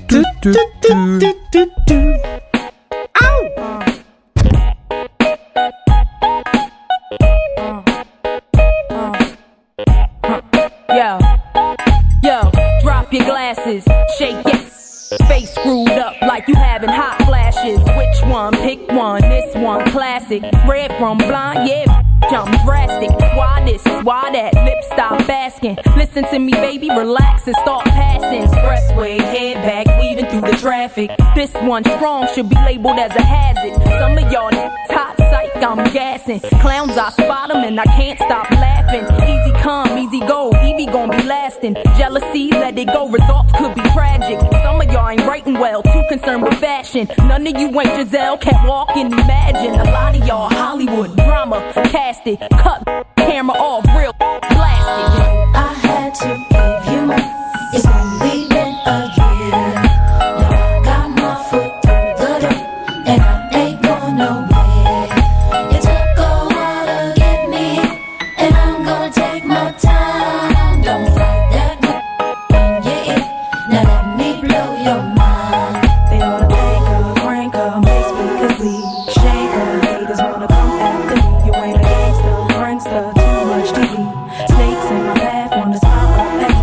Your glasses, shake it. Face screwed up like you having hot flashes. Which one? Pick one. This one classic. Red from blind, yeah. Jump drastic. Why this? Why that? Lip stop asking. Listen to me, baby. Relax and start passing. Expressway, head back, weaving through through the traffic. This one strong should be labeled as a hazard. Some of y'all top psych, I'm gassing. Clowns, I spot them and I can't stop laughing. Easy come, easy go, Evie gon' be lasting. Jealousy, let it go, results could be tragic. Some of y'all ain't writing well, too concerned with fashion. None of you ain't Giselle, can't walk and imagine. A lot of y'all Hollywood drama, cast it, cut camera off, real blasted. I had to give you more. It's only been a year. Now I got my foot through the door, and I ain't going nowhere. It took a while to get me here, and I'm gonna take my time. Don't fight that good in your ear. Now let me blow your mind. They ought to make a crank up, make speakers bleed. Shake up, haters wanna come after me. You ain't a gangster, prankster, too much TV. Snakes in my path wanna smile up at me.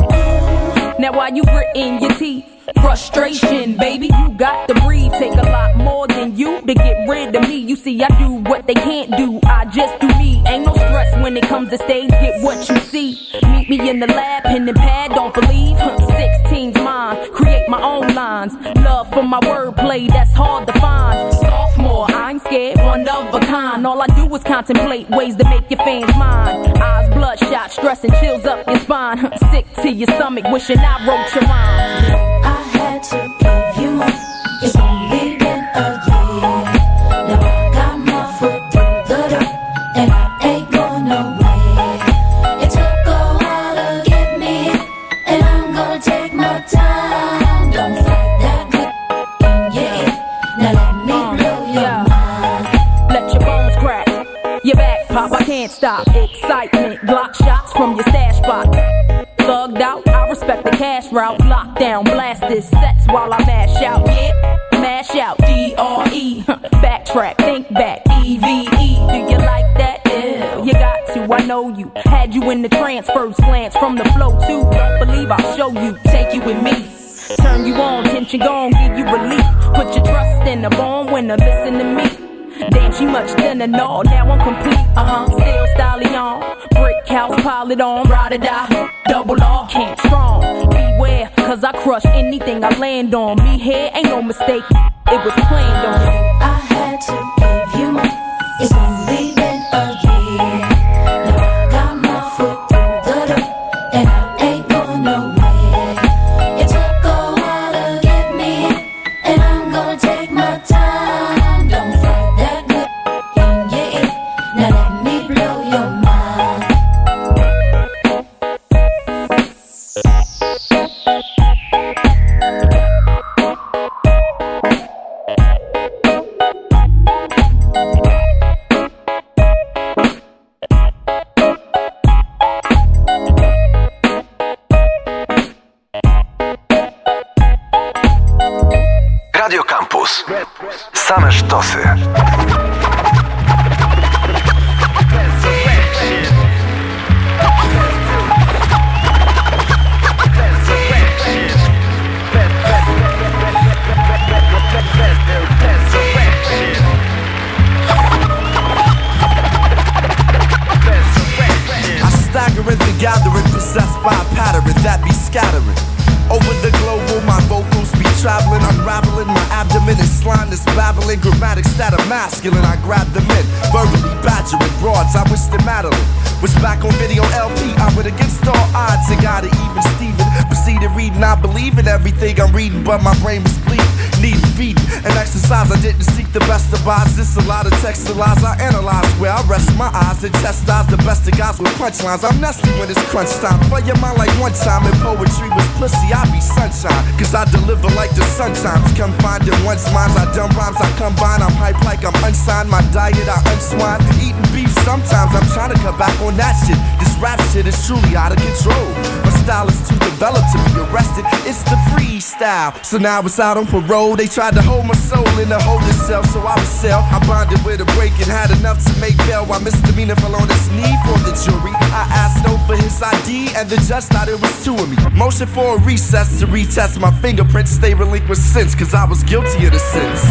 Now while you gritting your teeth, frustration, baby, you got to breathe. Take a lot more than you to get rid of me. You see, I do what they can't do, I just do me. Ain't no stress when it comes to stage, get what you see. Meet me in the lab, pen and pad, don't believe. 16's mine, create my own lines. Love for my wordplay, that's hard to find. Sophomore, I ain't scared, one of a kind. All I do is contemplate ways to make your fans mine. Eyes bloodshot, stress and chills up your spine. Sick to your stomach, wishing I wrote your rhyme. I had to give you more. It's only been a year. Now I got my foot through the door, and I ain't going nowhere. It took a while to get me here, and I'm gonna take my time. Don't fight that good in your ear. Now let me blow your mind. Let your bones crack, your back pop, I can't stop. Excitement, Glock shots from your stash spot. Thugged out, I respect the cash route. Lockdown, blast this sets while I mash out. Yeah, mash out, D-R-E. Backtrack, think back, E-V-E. Do you like that? Yeah, you got to, I know you. Had you in the trance, first glance from the flow too. Don't believe I'll show you, take you with me. Turn you on, tension gone, give you relief. Put your trust in the born winner, listen to me. Damn, she much thinner, no, now I'm complete, still stallion. Brick house, pile it on, ride or die, double R, can't strong. Beware, cause I crush anything I land on. Me here ain't no mistake, it was planned on. I had to give you more. It's only been a year. Now I got my foot through the door, and I ain't going nowhere. It took a while to get me here, and I'm gonna take my time. Don't fight that good in your ear. Now let me blow your mind. Radio Campus. Same sztosy. Staggering the gathering, possessed by a pattern that be scattering. Over the global, my vocals be traveling, unraveling my abdomen and slime this babbling. Grammatics that are masculine, I grab them in, verbally badgering broads, I wish them Madeline was back on video LP. I would against all odds and got it even Steven. Proceeded reading, I believe in everything I'm reading, but my brain was bleeding. Need feeding and exercise, I didn't seek the best of odds. This a lot of text and lies I analyze, where I rest my eyes and chastise the best of guys with punchlines. I'm nasty when it's crunch time. Play your mind like one time and poetry was pussy, I be sunshine. Cause I deliver like the sun times. Confined in one's minds, I dumb rhymes, I combine. I'm hype like I'm unsigned, my diet I unswine. Eating beef sometimes, I'm trying to cut back on that shit. This rap shit is truly out of control. My style is too developed to be arrested, it's the freestyle. So now it's out on parole. They tried to hold my soul in a holding cell, so I was sell. I bonded with a break and had enough to make bail. While misdemeanor fell on his knee for the jury. I asked no for his ID, and the judge thought it was two of me. Motion for a recess to retest my fingerprints. Stay relinquished since, cause I was guilty of the sins.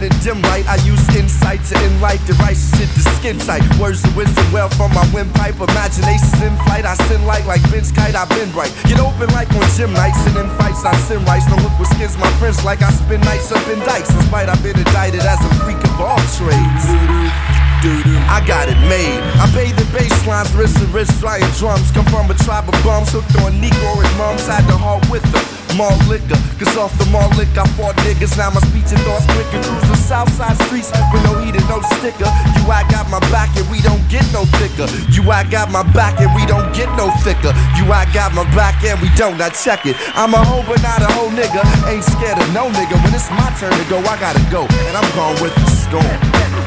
in dim light. I use insight to enlight the right shit to skin tight. Words of wisdom well from my windpipe. Imagination's in flight. I sin like Vince Kite. I've been right. Get open like on gym nights and in fights. I sin rights. Don't look with skins my prince like I spin nights up in dikes. In spite I've been indicted as a freak of all trades. I got it made. I bathe in bass lines, wrist and wrist, flying drums. Come from a tribe of bums, hooked on Negro and mums. Had the heart with the mall liquor, cause off the mall liquor I fought niggas. Now my speech and thoughts quicker. Cruise the south side streets with no heat and no sticker. You I got my back and we don't get no thicker. You I got my back and we don't get no thicker. You I got my back and we don't, now check it. I'm a hoe but not a hoe nigga. Ain't scared of no nigga. When it's my turn to go, I gotta go. And I'm gone with the storm.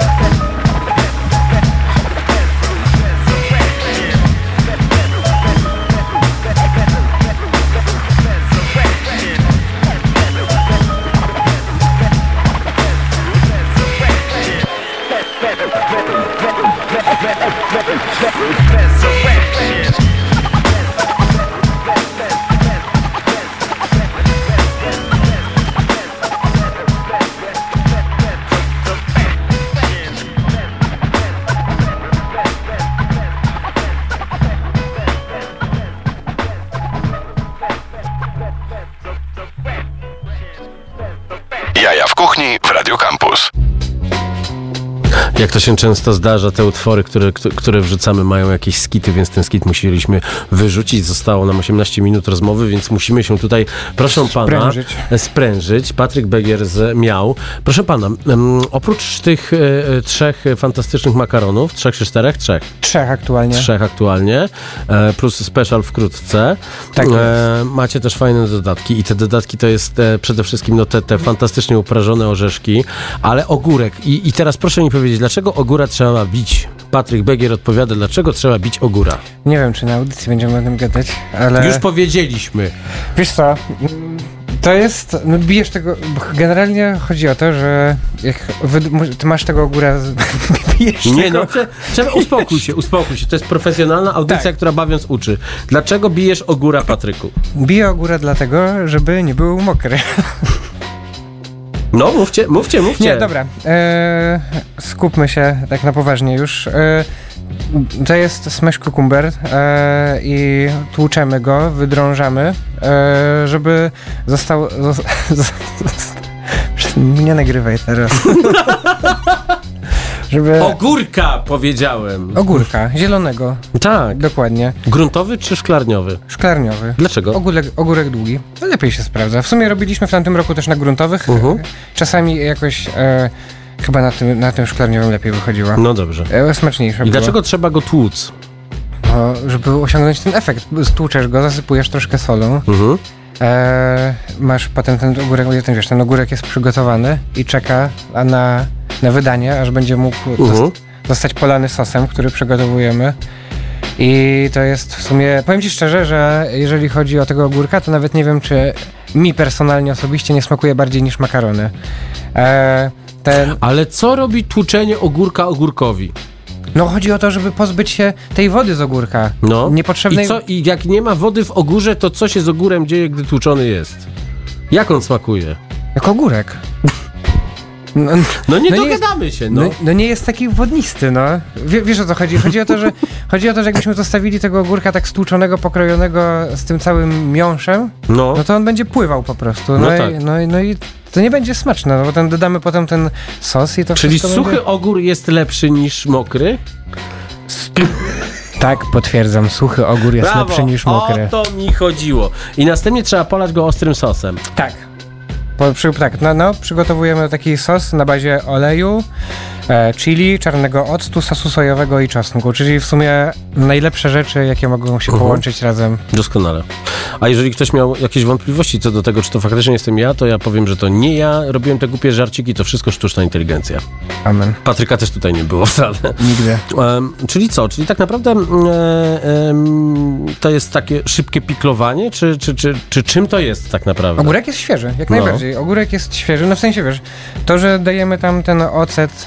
Jaja w kuchni w Radio Campus. Jak to się często zdarza, te utwory, które wrzucamy, mają jakieś skity, więc ten skit musieliśmy wyrzucić. Zostało nam 18 minut rozmowy, więc musimy się tutaj, proszę pana, sprężyć. Patryk Begier z Miał. Proszę pana, oprócz tych trzech fantastycznych makaronów, trzech czy czterech? Trzech aktualnie, plus special wkrótce. Tak macie też fajne dodatki i te dodatki to jest przede wszystkim no, te fantastycznie uprażone orzeszki, ale ogórek. I teraz proszę mi powiedzieć, dlaczego ogóra trzeba bić? Patryk Begier odpowiada, dlaczego trzeba bić ogóra. Nie wiem, czy na audycji będziemy o tym gadać, ale... Już powiedzieliśmy. Wiesz co, to jest... No bijesz tego... Generalnie chodzi o to, że jak ty masz tego ogóra... Bijesz nie tego... no, trzeba uspokój się. To jest profesjonalna audycja, tak, która bawiąc uczy. Dlaczego bijesz ogóra, Patryku? Biję ogóra dlatego, żeby nie był mokry. No, mówcie. Nie, dobra. Skupmy się tak na poważnie już. To jest smash cucumber i tłuczemy go, wydrążamy, żeby został... Nie nagrywaj teraz. Żeby... Ogórka, powiedziałem. Ogórka, zielonego. Tak. Dokładnie. Gruntowy czy szklarniowy? Szklarniowy. Dlaczego? Ogórek długi. To lepiej się sprawdza. W sumie robiliśmy w tamtym roku też na gruntowych. Czasami jakoś chyba na tym szklarniowym lepiej wychodziło. No dobrze. Smaczniejsze było. I dlaczego trzeba go tłuc? No, żeby osiągnąć ten efekt. Stłuczesz go, zasypujesz troszkę solą. Masz potem ten ogórek, ten ogórek jest przygotowany i czeka na wydanie, aż będzie mógł zostać polany sosem, który przygotowujemy. I to jest w sumie, powiem ci szczerze, że jeżeli chodzi o tego ogórka, to nawet nie wiem, czy mi personalnie osobiście nie smakuje bardziej niż makarony. Ale co robi tłuczenie ogórka ogórkowi? No chodzi o to, żeby pozbyć się tej wody z ogórka. No. Niepotrzebnej... I jak nie ma wody w ogórze, to co się z ogórem dzieje, gdy tłuczony jest? Jak on smakuje? Jak ogórek. No nie dogadamy się, no. No nie jest taki wodnisty, no. Wiesz o co chodzi? Chodzi o to, że jakbyśmy zostawili tego ogórka tak stłuczonego, pokrojonego z tym całym miąższem, no to on będzie pływał po prostu. No i to nie będzie smaczne, no bo tam dodamy potem ten sos i to Czyli wszystko suchy ogór jest lepszy niż mokry? Tak, potwierdzam, suchy ogór jest lepszy niż mokry. O to mi chodziło. I następnie trzeba polać go ostrym sosem. Tak. Przygotowujemy taki sos na bazie oleju, chili, czarnego octu, sosu sojowego i czosnku, czyli w sumie najlepsze rzeczy, jakie mogą się połączyć razem. Doskonale. A jeżeli ktoś miał jakieś wątpliwości co do tego, czy to faktycznie jestem ja, to ja powiem, że to nie ja robiłem te głupie żarciki, to wszystko sztuczna inteligencja. Amen. Patryka też tutaj nie było wcale. Nigdy. Czyli co? Czyli tak naprawdę to jest takie szybkie piklowanie, czy czym to jest tak naprawdę? Ogórek jest świeży, jak najbardziej. Ogórek jest świeży, no w sensie wiesz, to, że dajemy tam ten ocet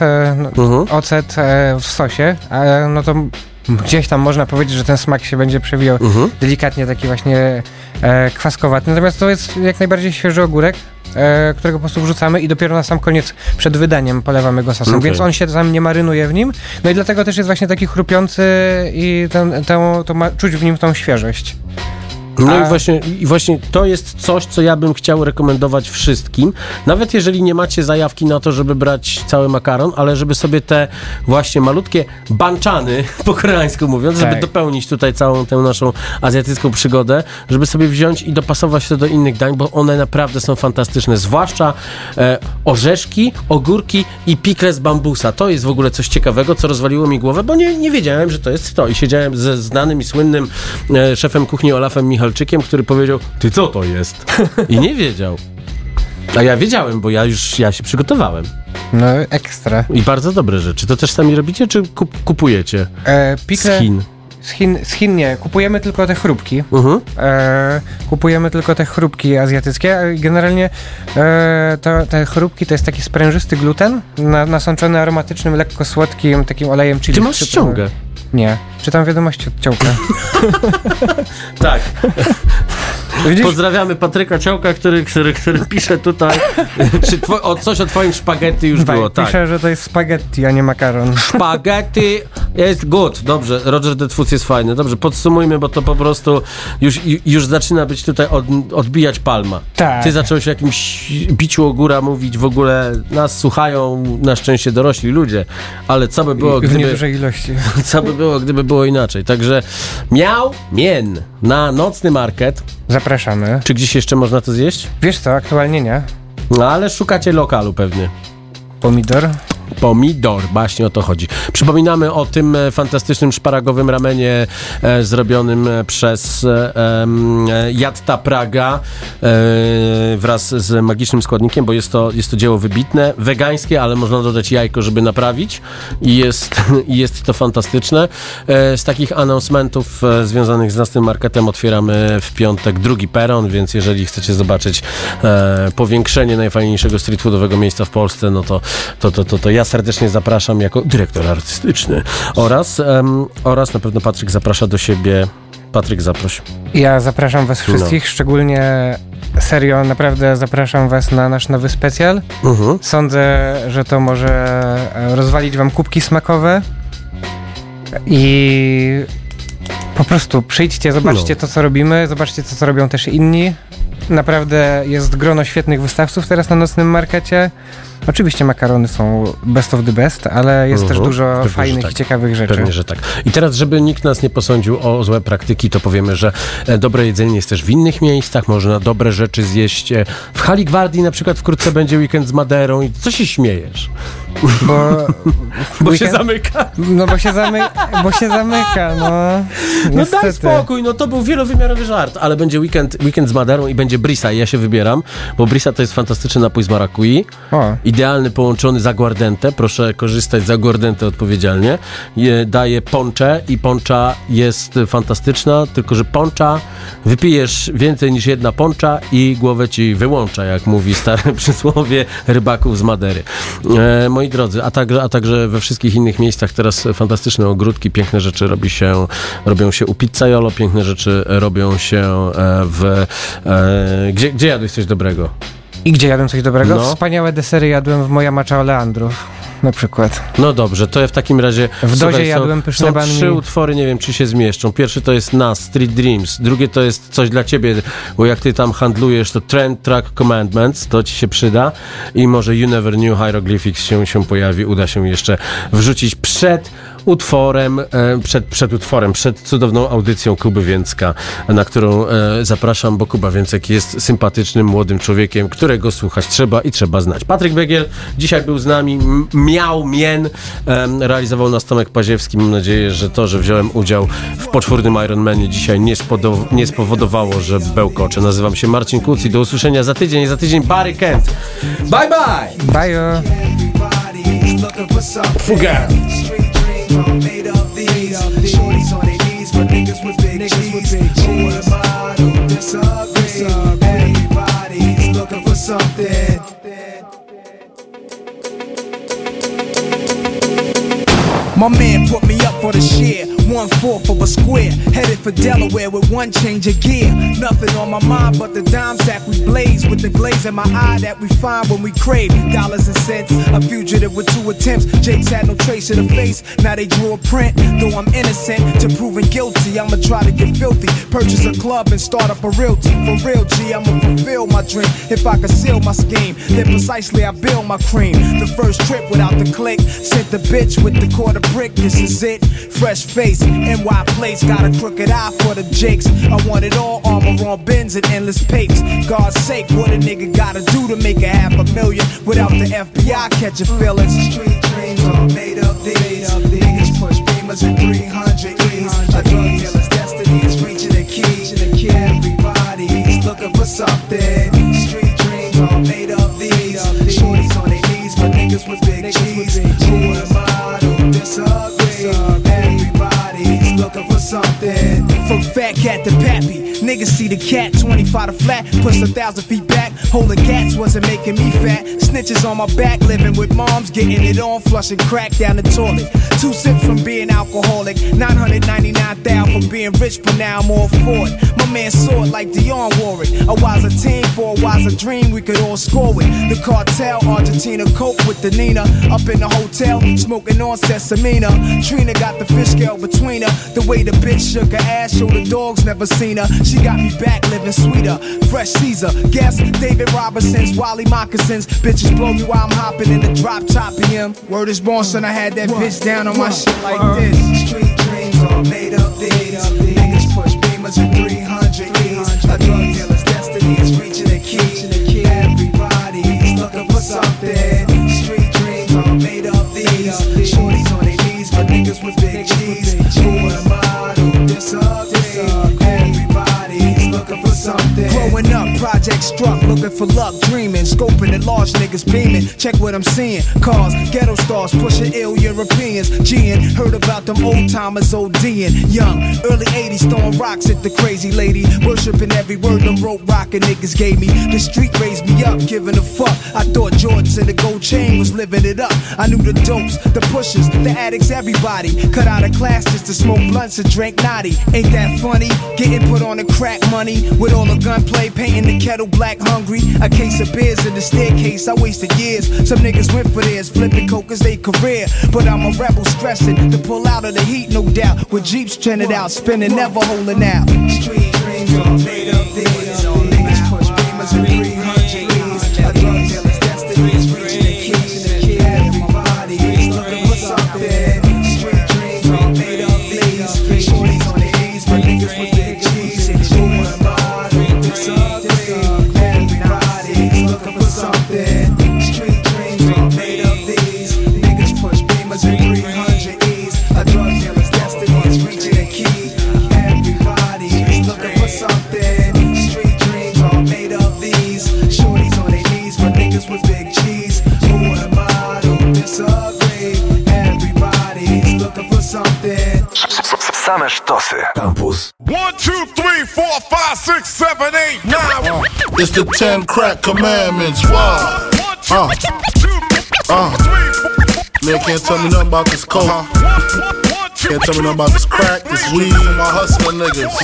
w sosie, no to gdzieś tam można powiedzieć, że ten smak się będzie przewijał delikatnie taki właśnie kwaskowaty. Natomiast to jest jak najbardziej świeży ogórek. którego po prostu wrzucamy i dopiero na sam koniec przed wydaniem polewamy go sosem, więc on się tam nie marynuje w nim, no i dlatego też jest właśnie taki chrupiący i czuć w nim tą świeżość. No i właśnie to jest coś, co ja bym chciał rekomendować wszystkim, nawet jeżeli nie macie zajawki na to, żeby brać cały makaron, ale żeby sobie te właśnie malutkie banczany, po koreańsku mówiąc, żeby dopełnić tutaj całą tę naszą azjatycką przygodę, żeby sobie wziąć i dopasować to do innych dań, bo one naprawdę są fantastyczne, zwłaszcza orzeszki, ogórki i pikle z bambusa. To jest w ogóle coś ciekawego, co rozwaliło mi głowę, bo nie wiedziałem, że to jest to i siedziałem ze znanym i słynnym szefem kuchni Olafem Michalczykiem, który powiedział, ty co to jest? I nie wiedział. A ja wiedziałem, bo ja się przygotowałem. No ekstra. I bardzo dobre rzeczy. To też sami robicie, czy kupujecie? Pikle z Chin nie. Kupujemy tylko te chrupki. Kupujemy tylko te chrupki azjatyckie. Generalnie te chrupki to jest taki sprężysty gluten nasączony aromatycznym, lekko słodkim takim olejem chili. Ty masz ściągę. Nie. Czytam wiadomości od Ciołka. Tak. Widzisz? Pozdrawiamy Patryka Ciołka, który pisze tutaj, czy coś o twoim spaghetti już było. Tak. Pisze, że to jest spaghetti, a nie makaron. Spaghetti jest good. Dobrze, Roger the Twóz jest fajny. Dobrze, podsumujmy, bo to po prostu już zaczyna być tutaj odbijać palma. Tak. Ty zacząłeś o jakimś biciu o góra mówić, w ogóle nas słuchają na szczęście dorośli ludzie, ale co by było, w niedużej ilości. Co by było, gdyby było inaczej. Także Miał Mien na nocny market. Zapraszamy. Czy gdzieś jeszcze można to zjeść? Wiesz co, aktualnie nie. No ale szukacie lokalu pewnie. Pomidor, właśnie o to chodzi. Przypominamy o tym fantastycznym szparagowym ramenie zrobionym przez Jatta Praga wraz z magicznym składnikiem, bo jest to dzieło wybitne, wegańskie, ale można dodać jajko, żeby naprawić i jest to fantastyczne. Z takich announcementów związanych z naszym marketem otwieramy w piątek drugi peron, więc jeżeli chcecie zobaczyć powiększenie najfajniejszego street foodowego miejsca w Polsce, no to ja serdecznie zapraszam jako dyrektor artystyczny oraz na pewno Patryk zaprasza do siebie. Patryk, zaproś. Ja zapraszam was wszystkich, szczególnie serio, naprawdę zapraszam was na nasz nowy specjal. Sądzę, że to może rozwalić wam kubki smakowe i po prostu przyjdźcie, zobaczcie to, co robimy, zobaczcie to, co robią też inni. Naprawdę jest grono świetnych wystawców teraz na nocnym markecie. Oczywiście makarony są best of the best, ale jest też dużo fajnych i ciekawych rzeczy. Pewnie, że tak. I teraz, żeby nikt nas nie posądził o złe praktyki, to powiemy, że dobre jedzenie jest też w innych miejscach, można dobre rzeczy zjeść. W Hali Gwardii na przykład wkrótce będzie weekend z Maderą i co się śmiejesz? Bo się zamyka. No bo się zamyka, no. No daj spokój, no to był wielowymiarowy żart, ale będzie weekend z Maderą i będzie brisa i ja się wybieram, bo brisa to jest fantastyczny napój z marakui. Idealny, połączony z aguardente. Proszę korzystać z aguardente odpowiedzialnie. Daje poncze i poncza jest fantastyczna, tylko że poncza wypijesz więcej niż jedna poncza i głowę ci wyłącza, jak mówi stare przysłowie rybaków z Madery. Moi drodzy, a także we wszystkich innych miejscach teraz fantastyczne ogródki, piękne rzeczy robią się u Pizzaiolo, piękne rzeczy robią się gdzie jadłeś coś dobrego? I gdzie jadłem coś dobrego? No. Wspaniałe desery jadłem w Moja Macza Oleandrów, na przykład. No dobrze, to ja w takim razie... W Dozie jadłem pyszne banh mi. Są 3 utwory, nie wiem, czy się zmieszczą. Pierwszy to jest Nas, Street Dreams. Drugie to jest coś dla ciebie, bo jak ty tam handlujesz, to Trend Track Commandments, to ci się przyda. I może You Never Knew Hieroglyphics się pojawi. Uda się jeszcze wrzucić przed cudowną audycją Kuby Więcka, na którą zapraszam, bo Kuba Więcek jest sympatycznym, młodym człowiekiem, którego słuchać trzeba znać. Patryk Begiel dzisiaj był z nami, Miał Mien, realizował nas Tomek Paziewski. Mam nadzieję, że to, że wziąłem udział w poczwórnym Ironmanie dzisiaj nie spowodowało, że bełkoczę. Nazywam się Marcin Kuc i do usłyszenia za tydzień Barry Kent. Bye bye! Bye! Fuga! Made of these shorties on their knees for niggas with big cheese. Who am I to disagree? Everybody's looking for something. My man put me up for the share. 1/4 of a square, headed for Delaware with one change of gear. Nothing on my mind but the dime sack we blaze, with the glaze in my eye that we find when we crave dollars and cents. A fugitive with 2 attempts. Jake's had no trace of the face, now they drew a print. Though I'm innocent to proving guilty, I'ma try to get filthy, purchase a club and start up a realty. For real G, I'ma fulfill my dream. If I conceal my scheme, then precisely I build my cream. The first trip without the click, sent the bitch with the quarter brick. This is it, fresh face, NY place, got a crooked eye for the jakes. I want it all, armor on bins and endless papes. God's sake, what a nigga gotta do to make a $500,000 without the FBI catching feelings? Street dreams are made of these. Niggas push beamers at 300 E's. A drug dealer's destiny is reaching a key. Everybody's looking for something. Street dreams are made of these. Shorties on their knees, but niggas with big G's. Who am I to disagree? Everybody's looking for something. From fat cat to pappy, niggas see the cat, 25 to flat, push 1,000 feet back. Holding cats wasn't making me fat. Snitches on my back, living with moms, getting it on, flushing crack down the toilet. 2 sips from being alcoholic, 999,000 from being rich, but now I'm all for it. My man saw it like Dionne Warwick. A wiser team for a wiser dream we could all score with. The cartel, Argentina, coke with the Nina. Up in the hotel, smoking on Sesamina. Trina got the fish scale between her. The way the bitch shook her ass, showed the dogs never seen her. She got me back living sweeter. Fresh Caesar, guess David Robinson's, Wally moccasins. Bitches blow me while I'm hopping in the drop top PM. Word is born, son, I had that bitch down on my shit like this. Street dreams are made of these. Niggas push beamers at 300 E's. A drug dealer's destiny is reaching a key. Everybody's looking for something. Street dreams are made of these. Shorties on their knees, but niggas with big G's. Who am I to disagree? Everybody's looking for something. Growing up, project struck, looking for luck, dreaming, scoping at large niggas beaming. Check what I'm seeing, cars, ghetto stars, pushing ill Europeans. G'ing, heard about them old timers ODing. Young, early 80s, throwing rocks at the crazy lady. Worshipping every word them rope rockin' niggas gave me. The street raised me up, giving a fuck. I thought Jordans and the gold chain was living it up. I knew the dopes, the pushers, the addicts, everybody. Cut out of class just to smoke blunts and drink naughty. Ain't that funny? Getting put on the crack money with all the gunplay, painting the kettle black hungry. A case of beers in the staircase, I wasted years. Some niggas went for theirs, flipping coke as they career. But I'm a rebel stressing to pull out of the heat, no doubt. With Jeeps trending out, spinning, never holding out. Street dreams are made of these. Niggas push beamers at 300 E's. A drug dealer's destiny is reaching a key. Everybody's looking for something. Street dreams are made of these. Shorties on their knees, but niggas with big G's. Who am I to disagree? Everybody's looking for something. Street dreams are made of these. Niggas push beamers at 300 E's. A drug dealer's destiny is reaching a key. Everybody's looking for something. Street dreams are made of these. Shorties on their knees, but niggas with big G's. Who am I to disagree? Everybody's looking for something. Same sztosy. Campus. 1, 2, 3, 4, 5, 6, 7, 8, 9. It's the 10 crack commandments. Why? Man can't tell me nothing about this coke. Can't tell me nothing about this crack, this weed, and my hustling niggas.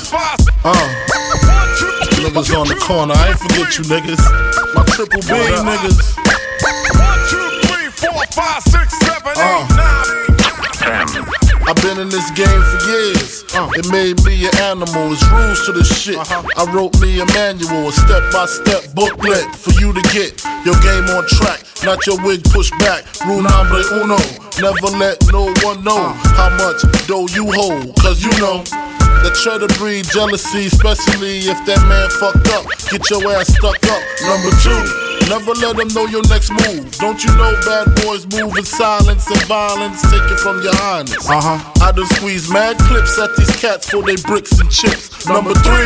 Niggas on the corner, I ain't forget you niggas. My triple B niggas. 1, 2, 3, 4, 5, 6, 7, 8, 9. I've been in this game for years. It made me an animal. It's rules to this shit. I wrote me a manual, a step-by-step booklet for you to get your game on track. Not your wig pushed back. Rule number uno. Never let no one know how much dough you hold. Cause you know that try to breed jealousy, especially if that man fucked up. Get your ass stuck up. Number 2. Never let them know your next move. Don't you know bad boys move in silence and violence? Take it from your highness. I done squeeze mad clips at these cats for they bricks and chips. Number 3.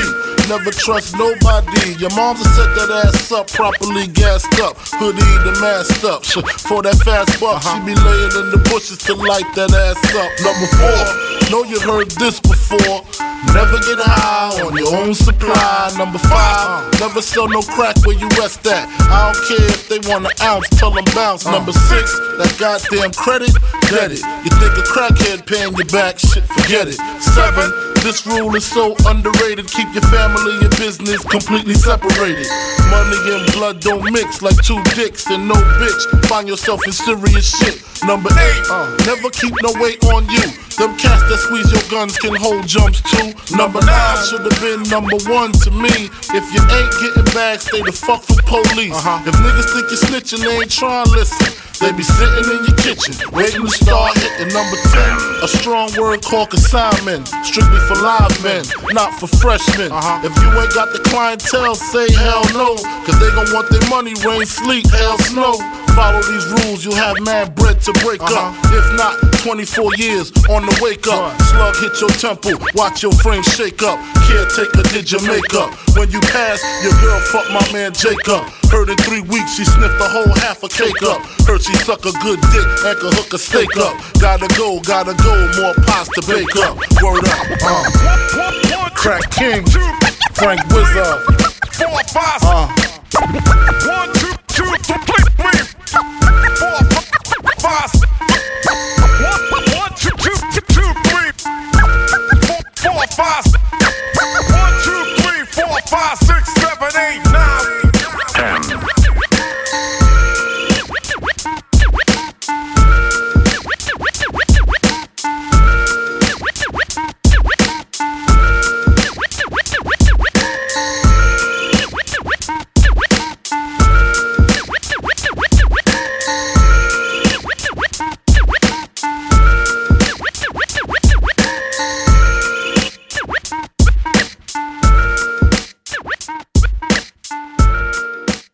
never trust nobody. Your mom's set that ass up, properly gassed up, hoodie the masked up. For that fast buck, she be laying in the bushes to light that ass up. Number 4, know you heard this before. Never get high on your own supply. Number 5, never sell no crack where you rest at. I don't care if they want an ounce, tell them bounce. Number 6, that goddamn credit, get it. You think a crackhead paying you back, shit, forget it. 7, this rule is so underrated. Keep your family and business completely separated. Money and blood don't mix like 2 dicks and no bitch. Find yourself in serious shit. Number 8, never keep no weight on you. Them cats that squeeze your guns can hold jumps too. Number 9 should have been number 1 to me. If you ain't getting bags, stay the fuck from police. If niggas think you're snitching, they ain't trying to listen. They be sitting in your kitchen, waiting to start hitting. Number 10, a strong word called consignment. Strictly for live men, not for freshmen. If you ain't got the clientele, say hell no. Cause they gon' want their money, rain, sleet, hell, snow. Follow these rules, you'll have mad bread to break up. If not, 24 years on the wake up. Slug hit your temple, watch your frame shake up. Caretaker did your makeup. When you pass, your girl fucked my man Jacob. Heard in 3 weeks she sniffed the whole half a cake up. Heard she suck a good dick and could hook a steak up. Gotta go, more pies to bake up. Word up, Crack King, Frank Wizard. 4, 5, 1, 2, 2, 3, 4, 5, 1, 2, 2, 2, 3, 4, 5, 1, 2, 3, 4, 5, 6.